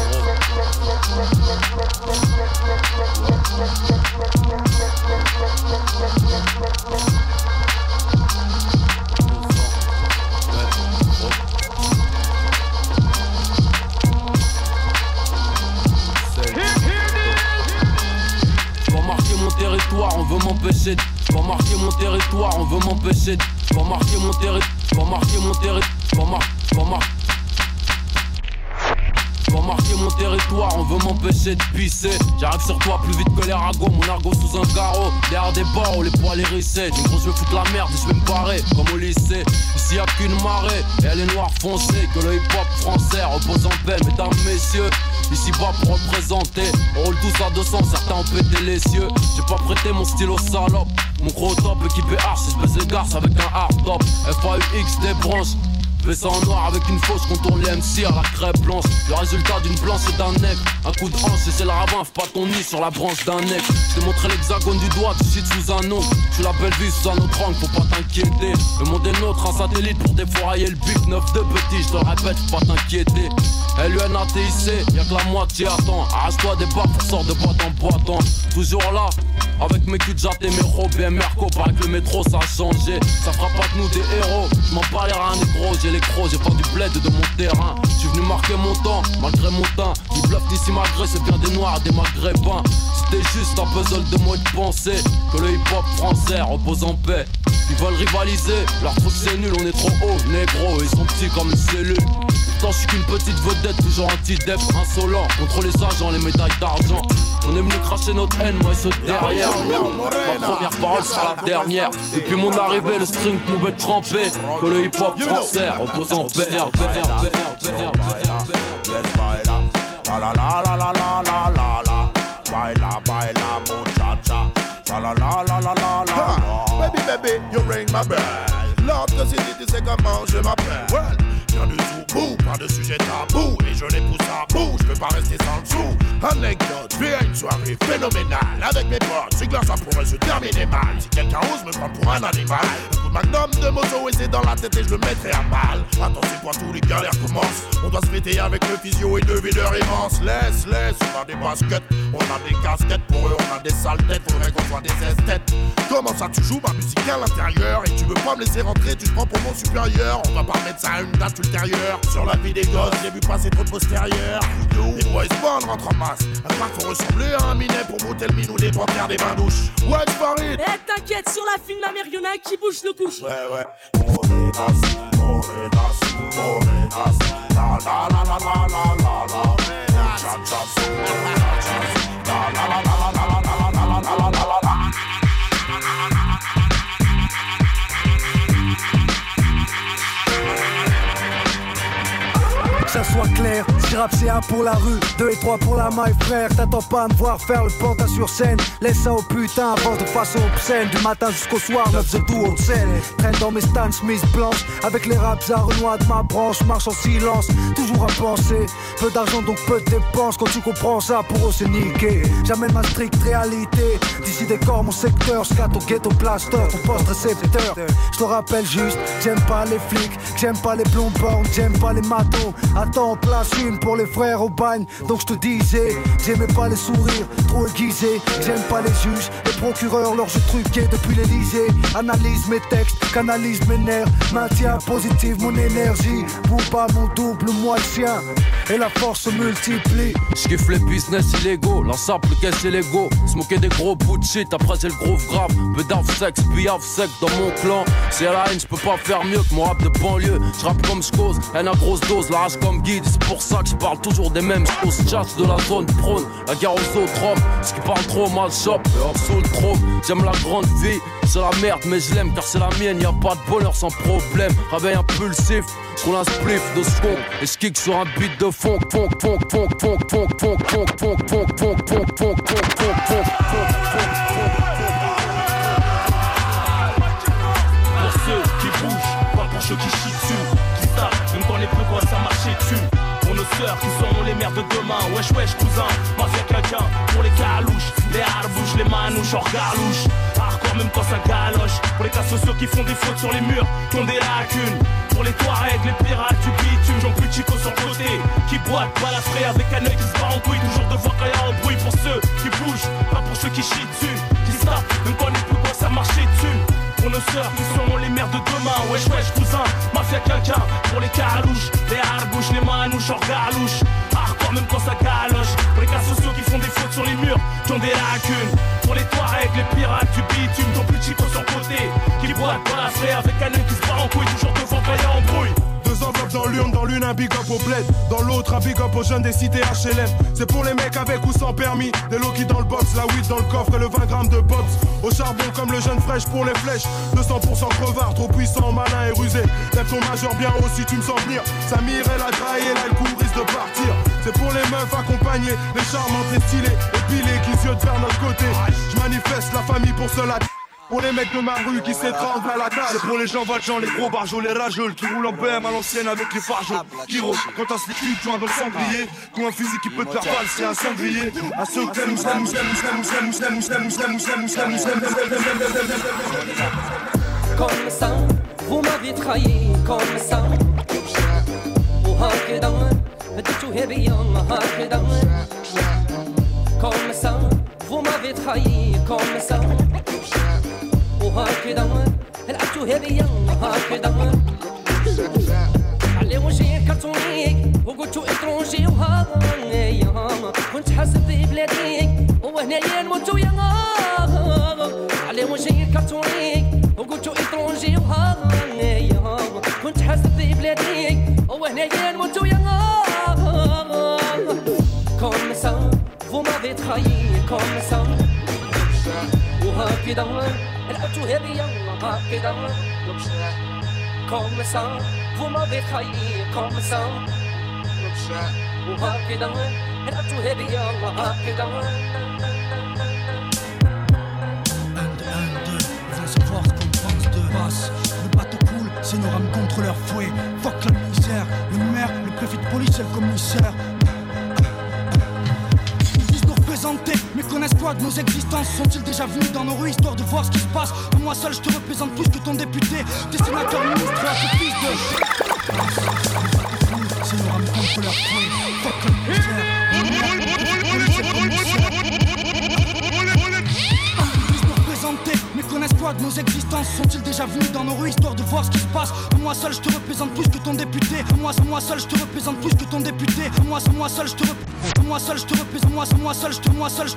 Territoire, on veut m'empêcher. Pas marquer mon territoire, on veut m'empêcher. Pas marquer mon territoire, pas marquer mon territoire, pas marquer mon territoire, on veut m'empêcher de pisser. J'arrive sur toi plus vite que les ragots, mon argot sous un carreau. Derrière des barreaux, les poils hérissés. Du gros je vais foutre la merde et je vais me barrer comme au lycée. Ici y'a qu'une marée et elle est noire foncée. Que le hip hop français repose en paix, mesdames, messieurs. Ici bas pour représenter, on roule tous à 200, certains ont pété les cieux. J'ai pas prêté mon stylo salope, mon gros top équipé arch, espèce de garce avec un hard top. FAUX des branches, ça en noir avec une fausse, contourne les MC à la crêpe blanche. Le résultat d'une blanche et d'un nègre. Un coup de hanche et c'est le ravin, fais pas ton nid sur la branche d'un nègre. Je t'ai montré l'hexagone du doigt, tu cites sous un ongle. Tu la belle vie sous un autre angle, faut pas t'inquiéter. Le monde est nôtre, un satellite pour défourailler le bif. 9 de petit, je te le répète, faut pas t'inquiéter. LUNATIC, y'a que la moitié attend. Arrache-toi des barres pour sortir de boîte en boîte. Toujours là, avec mes culs de jatte et mes robes et Merco. Paraît que le métro ça a changé, ça fera pas de nous des héros. Je m'en bats les reins des gros, j'ai les crocs, j'ai pas du bled de mon terrain. J'suis venu marquer mon temps, malgré mon teint. Ni bluff ni si malgré, c'est bien des noirs et des maghrébins. C'était juste un puzzle de mots et de pensée. Que le hip hop français repose en paix. Ils veulent rivaliser, leur truc c'est nul, on est trop haut, négro, ils sont petits comme une cellule. Pourtant je suis qu'une petite vedette, toujours anti-dep, insolent. Contre les agents, les médailles d'argent. On est venu cracher notre haine, moi et ceux derrière. Ma première parole sera la dernière. Depuis mon arrivée, le string pouvait tremper. Que le hip hop français repose en paix. La la la la la la la la la. Baila, baila, muchacha. La la la la la la la. Baby, baby, you ring my bell. L'autre city, tu sais comment je m'appelle. Well, rien du tout. Bouh, pas de sujet tabou, et je les pousse à bout, je peux pas rester sans le sou. Anecdote, je vais à une soirée phénoménale avec mes potes, c'est que là ça pourrait se terminer mal. Si quelqu'un ose me prendre pour un animal, un coup de magnum de moto et c'est dans la tête et je le mettrai à mal. Attention quand tous les galères commencent, on doit se fêter avec le physio et le videur immense. Laisse, on a des baskets, on a des casquettes, pour eux on a des sales têtes, faudrait qu'on soit des esthètes. Comment ça tu joues ma musique à l'intérieur et tu veux pas me laisser rentrer, tu te prends pour mon supérieur. On va pas mettre ça à une date ultérieure. Sur la vie des gosses, j'ai vu passer trop de postérieurs. Les boys band rentrent en masse, un parc faut ressembler à un minet pour brouter le minou des panthères des bains douches. Ouais, Farid. Eh t'inquiète, sur la film la mer y'en a un qui bouge le couche. Ouais. Morenas, la la la la la la la la. Que ça soit clair, si rap c'est 1 pour la rue, 2 et 3 pour la maille frère. T'attends pas à me voir faire le pantin sur scène. Laisse ça au putain, avance de façon obscène. Du matin jusqu'au soir, 9 de tout haute scène. Traîne dans mes Stan Smith blanches, avec les raps à Renoir de ma branche. Marche en silence, toujours à penser. Peu d'argent donc peu de dépenses. Quand tu comprends ça, pour eux c'est niqué. J'amène ma stricte réalité. D'ici décor mon secteur, scat au ghetto plaster, ton poste récepteur. Je te rappelle juste, j'aime pas les flics, j'aime pas les blonds bornes, j'aime pas les matos. Attends, on place une pour les frères au bagne. Donc je te disais, j'aimais pas les sourires trop aiguisés. J'aime pas les juges, les procureurs, leurs jeux truqués depuis l'Elysée. Analyse mes textes, canalise mes nerfs. Maintiens positive mon énergie. Pour pas mon double, moi le sien. Et la force se multiplie. J'kiffe les business illégaux, l'ensemble caisse et l'ego. Smoker des gros bouts de shit, après c'est le groove grave. Peu d'ave-sex, puis have-sec dans mon clan. C'est à la haine, j'peux pas faire mieux que mon rap de banlieue. J'rappe comme j'cause, haine à grosse dose, la rage comme guide. C'est pour ça que j'parle toujours des mêmes choses. Chasse de la zone prône, la guerre aux autres hommes. Ce qui parle trop mal shop, hors sous le trône. J'aime la grande vie, c'est la merde mais je l'aime car c'est la mienne. Y'a pas de bonheur sans problème, réveil impulsif. J'roule un spliff de skunk et j'kick sur un beat de funk. Pour ceux qui bougent, pas pour ceux qui chient dessus, qui savent même quand les peu quoi ça marchait dessus. Pour nos sœurs qui seront les mères de demain. Wesh cousin, mafia quelqu'un. Pour les calouches, les harbouches, les manouches hors galouche. Hardcore même quand ça galoche. Pour les cas sociaux qui font des fautes sur les murs, qui ont des lacunes. Pour les Touaregs, les pirates du bitume, j'en plus chico sur le côté. Qui boite, balafré avec un œil qui se bat en couille. Toujours devant quand y'a un bruit. Pour ceux qui bougent, pas pour ceux qui chient dessus. Qui savent même quand les plus quoi ça marchait dessus. Pour nos sœurs qui seront les mères de demain. Wesh cousin, mafia quelqu'un. Pour les calouches, les harbouches, les manouches hors galouche. Hardcore même quand ça galoche. Pour les cas sociaux qui font des fautes sur les murs, qui ont des lacunes. Pour les Touaregs, les pirates du bitume, ton plus chico sur le côté. Qui boite, balafré avec un œil qui se bat en couille. Toujours devant quand y'a un bruit. Deux enveloppes dans l'une un big up au bled, dans l'autre un big up aux jeunes des cités HLM. C'est pour les mecs avec ou sans permis, des low dans le box, la weed dans le coffre et le 20 grammes de bobs. Au charbon comme le jeune fraîche pour les flèches, 200% crevard, trop puissant, malin et rusé. Lève ton majeur bien haut si tu me sens venir. Samir et la draille et là le coup risque de partir. C'est pour les meufs accompagnées, les charmantes et stylées, épilées qui ziotent vers notre côté. Je manifeste la famille pour cela. Pour les mecs de ma rue qui s'étranglent à la dalle. C'est pour les gens valjean, les gros barjots, les rageux qui roulent en BM à l'ancienne avec les fargeaux. Qui roulent quand t'as ce liquide, joint dans le sanglier. Qui ont un physique qui peut te faire balle, c'est un sanglier. À ceux que comme ça, vous m'avez trahi, comme ça. وهكذا بديتو هبيا هكذا. Comme ça, vous m'avez trahi, comme ça. وهكذا لعبتو هبيا هكذا. علي وجهي كرتوني وقلتو اترونجي وهايا. كنت حاسب ببلادي وهنايا نموتو يا. علي وجهي كرتوني وقلتو اترونجي وهايا. كنت حاسب ببلادي وهنايا نموتو يا. Comme ça, vous m'avez trahi, comme ça. وهكذا لعبتو هبيا هكذا. Comme ça, vous m'avez trahi, comme ça. وهكذا لعبتو هبيا هكذا. Vont savoir ce qu'on pense de basse. Le bateau coule, c'est nos rames contre leur fouet. Fuck la misère, nos existences sont-ils déjà venus dans nos rues, histoire de voir ce qui se passe. Moi seul je te représente plus que ton député, tes sénateurs, ministres, tes fils de... C'est nous ramener contre leur fouet. Fuck le mais connaissent quoi de nos existences? Sont-ils déjà venus dans nos rues, histoire de voir ce qui se passe? Moi seul je te représente plus que ton député. Moi seul je te représente plus que ton député. Moi seul je te représente. Moi seul je te représente. Moi seul je te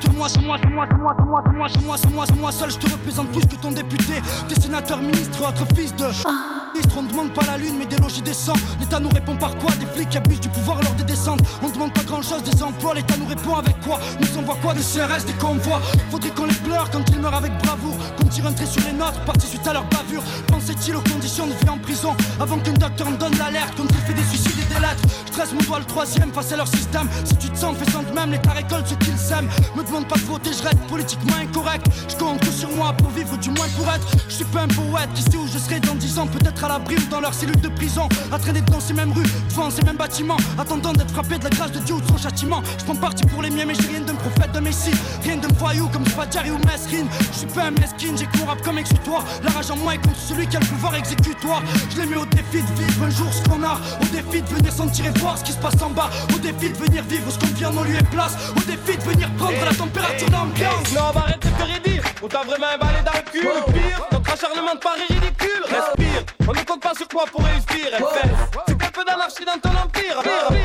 représente plus que ton député. Tes sénateurs, ministres, autres fils de... On ne demande pas la lune mais des logis décents. L'État nous répond par quoi? Des flics qui abusent du pouvoir lors des descentes. On demande pas grand chose des emplois. L'État nous répond avec quoi? Nous envoie quoi? Des CRS, des convois. Faudrait qu'on les pleure quand ils meurent avec bravoure. Qu'on tire un trait sur les nôtres, partis suite à leur bavure. Pensait-il aux conditions de vie en prison avant qu'un docteur me donne l'alerte? Quand il fait des suicides et des lettres, je dresse mon doigt le troisième face à leur système. Si tu te sens, fais-en de même. L'État récolte ce qu'ils sèment. Me demande pas de voter, je reste politiquement incorrect. Je compte que sur moi pour vivre, du moins pour être. Je suis pas un poète qui sait où je serai dans 10 ans. Peut-être à l'abri ou dans leur cellule de prison, à traîner dans ces mêmes rues, devant ces mêmes bâtiments, attendant d'être frappé de la grâce de Dieu ou de son châtiment. Je prends parti pour les miens mais j'ai rien d'un prophète, d'un messie. Rien d'un voyou comme Spadjari ou Mesrine. Je suis pas un mesquine, j'ai que mon rap comme exutoire. La rage en moi est contre celui qui a le pouvoir exécutoire. Je les mets au défi de vivre un jour ce qu'on a. Au défi de venir sentir et voir ce qui se passe en bas. Au défi de venir vivre ce qu'on vit en nos lieux et place. Au défi de venir prendre la température d'ambiance. Non, on va arrêter de te redire. On t'a vraiment emballé dans le cul. Le pire, notre acharnement de Paris ridicule. Respire, on ne compte pas sur toi pour réussir. C'est un peu d'anarchie dans ton empire.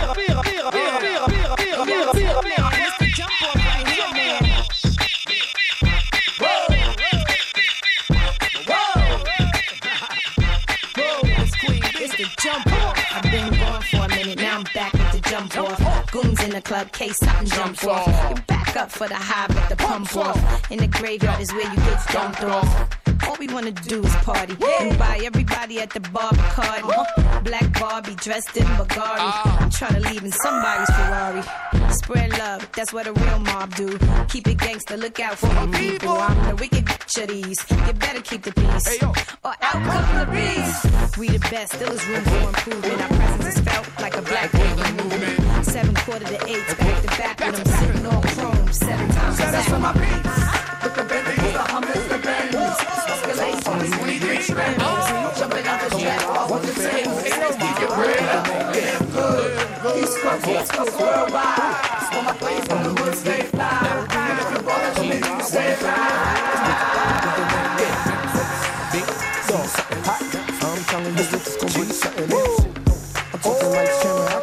I've been gone for a minute, now I'm back with the jump off. Goons in the club, case something jump off. You back up for the high with the pump off. In the graveyard is where you get dumped off. All we wanna do is party and buy everybody at the bar Bacardi. Black Barbie dressed in Bulgari. I'm trying to leave in somebody's Ferrari. Spread love, that's what a real mob do. Keep it gangster, look out for the people. I'm the wicked bitch of these. You better keep the peace, or out come the beast. We the best, still is room for improvement. Our presence is felt like a black baby movement. 7 quarter to 8, back to back when I'm sitting on chrome 7 times. So that's for my beats. With the Bentleys, the Hummers, the Bentleys. Escalades, 23 Bentleys. Jumping out the jet, what the same. Get your bread up, get good. East Coast worldwide. For my place on the woods, stay fly. And if you're bothered, you need to stay fly. Big song, something hot. I'm telling you, it's gonna be something else. I'm talking like Shannon.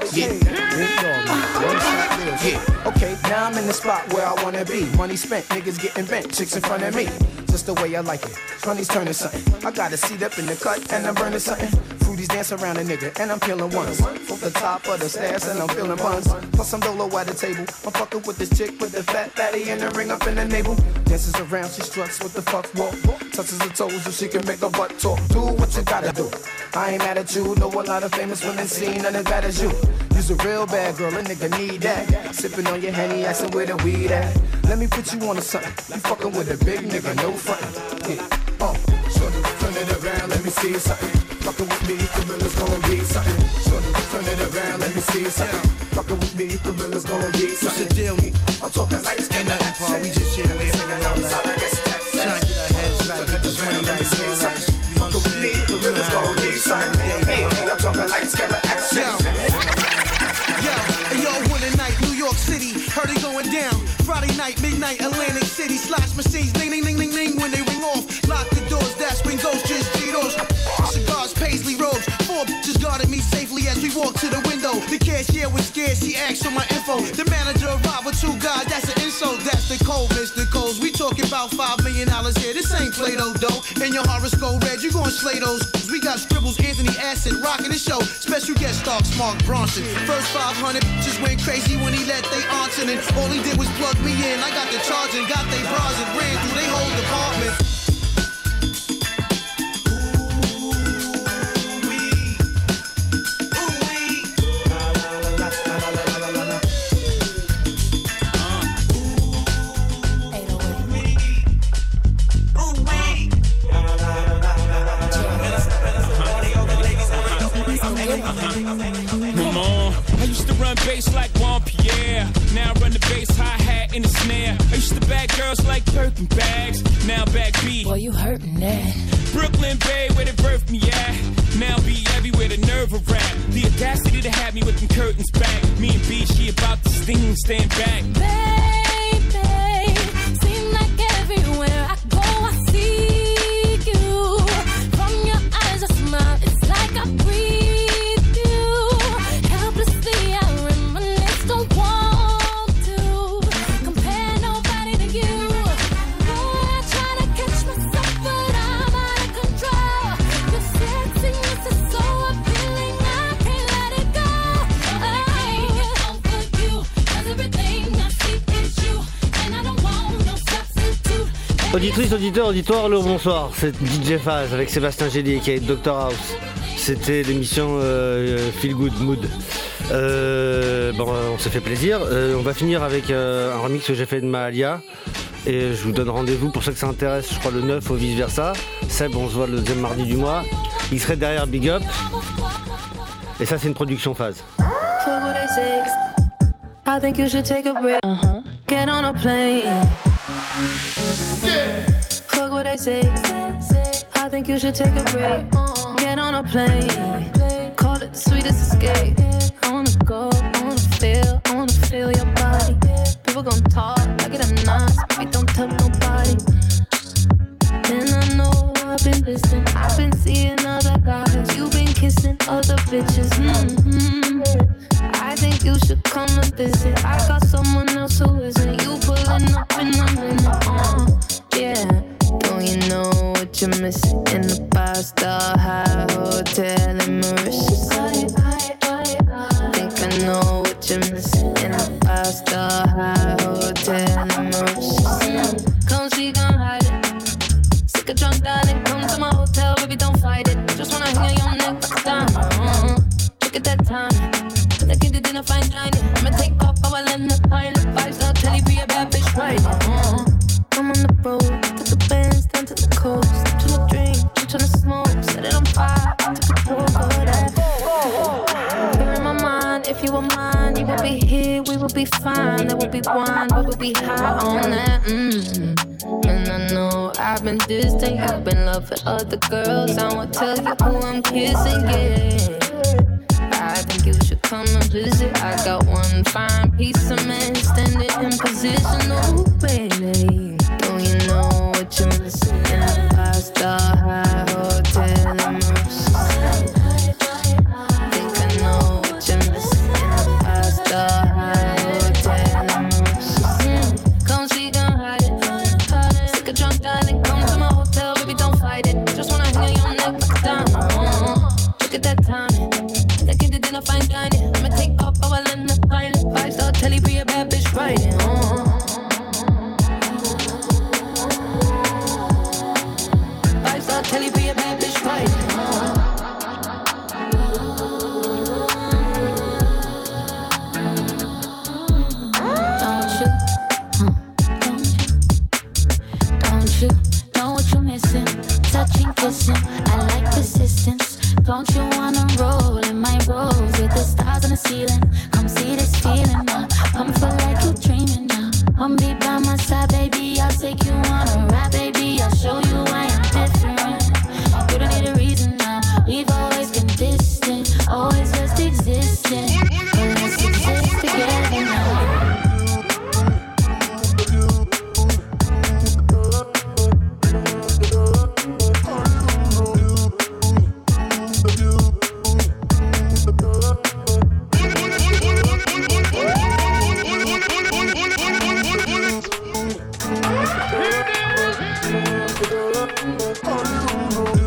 Yeah, okay, now I'm in the spot where I wanna be. Money spent, niggas getting bent, chicks in front of me. Just the way I like it. Money's turning something. I got a seat up in the cut and I'm burning something. Fruities dance around a nigga and I'm peeling ones. Off the top of the stairs and I'm feeling buns. Plus some dolo at the table. I'm fucking with this chick with the fat fatty and the ring up in the navel. Dances around, she struts with the fuck walk. Touches her toes so she can make her butt talk. Do what you gotta do. I ain't mad at you. Know a lot of famous women seen none as bad as you. You's a real bad girl, a nigga need that. Sipping on your Henny, asking where the weed at. Let me put you on to something. You fucking with a big nigga, no frontin'. Yeah, shorty, turn it around, let me see something. Fucking with me, the realest gonna be something. Shorty, turn it around, let me see something. Fucking with me, the realest gonna be something. What's the deal? I'm talking like it's ain't nothing, Paul. We just here, we figuring out like trying to get our heads right. We just running like this. Fucking with me, the realest gonna be something. Hey, I'm talking like it's got action. Yo, one night, New York City, heard it going down. Friday night, midnight, Atlantic City, slash machines, ding, ding, ding, ding, ding, when they ring off. Lock the doors, that's when ghosts just G-Dos. Cigars, paisley robes, 4 bitches guarded me safely as we walked to the window. The cashier was scared, she asked for my info. The manager arrived with 2 guys, that's an insult. That's the code, Mr. Coles. We talking about $5 million here. This ain't Play-Doh, though. And your horoscope red, you gon' slay those. We got scribbles, Anthony Acid, rocking the show. Special guest star, Mark Bronson. First 500 just went crazy when he let they answer. And all he did was plug me in. I got the charge and got they bras and ran through they whole department. I used to run bass like Juan Pierre. Now I run the bass, hi-hat, and the snare. I used to bag girls like Birkin bags. Now back B. Boy, you hurtin' that. Brooklyn Bay, where they birthed me at. Now be everywhere, the nerve of rap. The audacity to have me with them curtains back. Me and B, she about to sting, stand back. Baby, seem like everywhere I go, I see you. From your eyes, I smile, it's like I breathe you. Helplessly, I reminisce, don't want to compare nobody to you. Boy, I try to catch myself, but I'm out of control. Your sexiness is so appealing, I can't let it go. I can't get over you, 'cause everything I see is you, and I don't want no substitute. Auditrice, auditeur, auditoire, le bonsoir. C'est DJ Phase avec Sébastien Gély qui est Dr House. C'était l'émission Feel Good Mood. On s'est fait plaisir. On va finir avec un remix que j'ai fait de Mahalia. Et je vous donne rendez-vous pour ceux que ça intéresse, je crois le 9 ou vice versa. Seb, on se voit le deuxième mardi du mois. Il serait derrière Big Up. Et ça, c'est une production Phase. For what I say, I think you should take a break. Get on a plane. Fuck what I say. I think you should take a break. Get on a plane. Call it the sweetest escape. I wanna go, I wanna feel your body. People gon' talk, I get a nice, baby, don't tell nobody. And I know I've been listening, I've been seeing other guys. You've been kissing other bitches. I think you should come and visit. I got someone else who isn't. You pulling up in a minute. Yeah. Don't you know what you're missing in the 5-star high hotel in Mauritius? Think I know what you're missing in the 5-star high hotel in Mauritius. Come see, come hide it. Sick of drunk dialing, come to my hotel, baby, don't fight it. Just wanna hang on your neck like a diamond. Look at that time. When I get it in a fine dining, I'ma take off how I land the pilot. 5-star telly, be a bad bitch, right? I'm on the road, took the bands down to the coast. I'm tryna drink, I'm tryna smoke, set it on fire, took control of that. You're in my mind, if you were mine, you would be here, we would be fine. There would be wine, we would be high on that. And I know I've been distant, you've been loving other girls. I won't tell you who I'm kissing, yeah. I think you should come and visit. I got one fine piece of man standing in position, oh baby. Don't you know what you're missing in a 5-star high hotel in Mauritius? Think I know what you're missing in a 5-star high hotel in Mauritius. Come see, come hide it. Sick of drunk dialing, come to my hotel, baby, don't fight it. Just wanna hang on your neck like a diamond. Look at that time. I get it in a fine dining. I'ma take off how I land the pilot. 5-star telly, be a bad bitch, riding. 5-star telly, be a bad bitch, riding. Don't you know what you're missing? Touching, kissing, I like persistence. Don't you wanna roll in my rose with the stars on the ceiling? Come see this feeling now. Come feel like you're dreaming now. Come be by my side, baby. I'll take you on a ride, baby. I'll show you why I'm different. You don't need a reason now. We've always been distant, always just existing. But let's exist together now. Hollywood.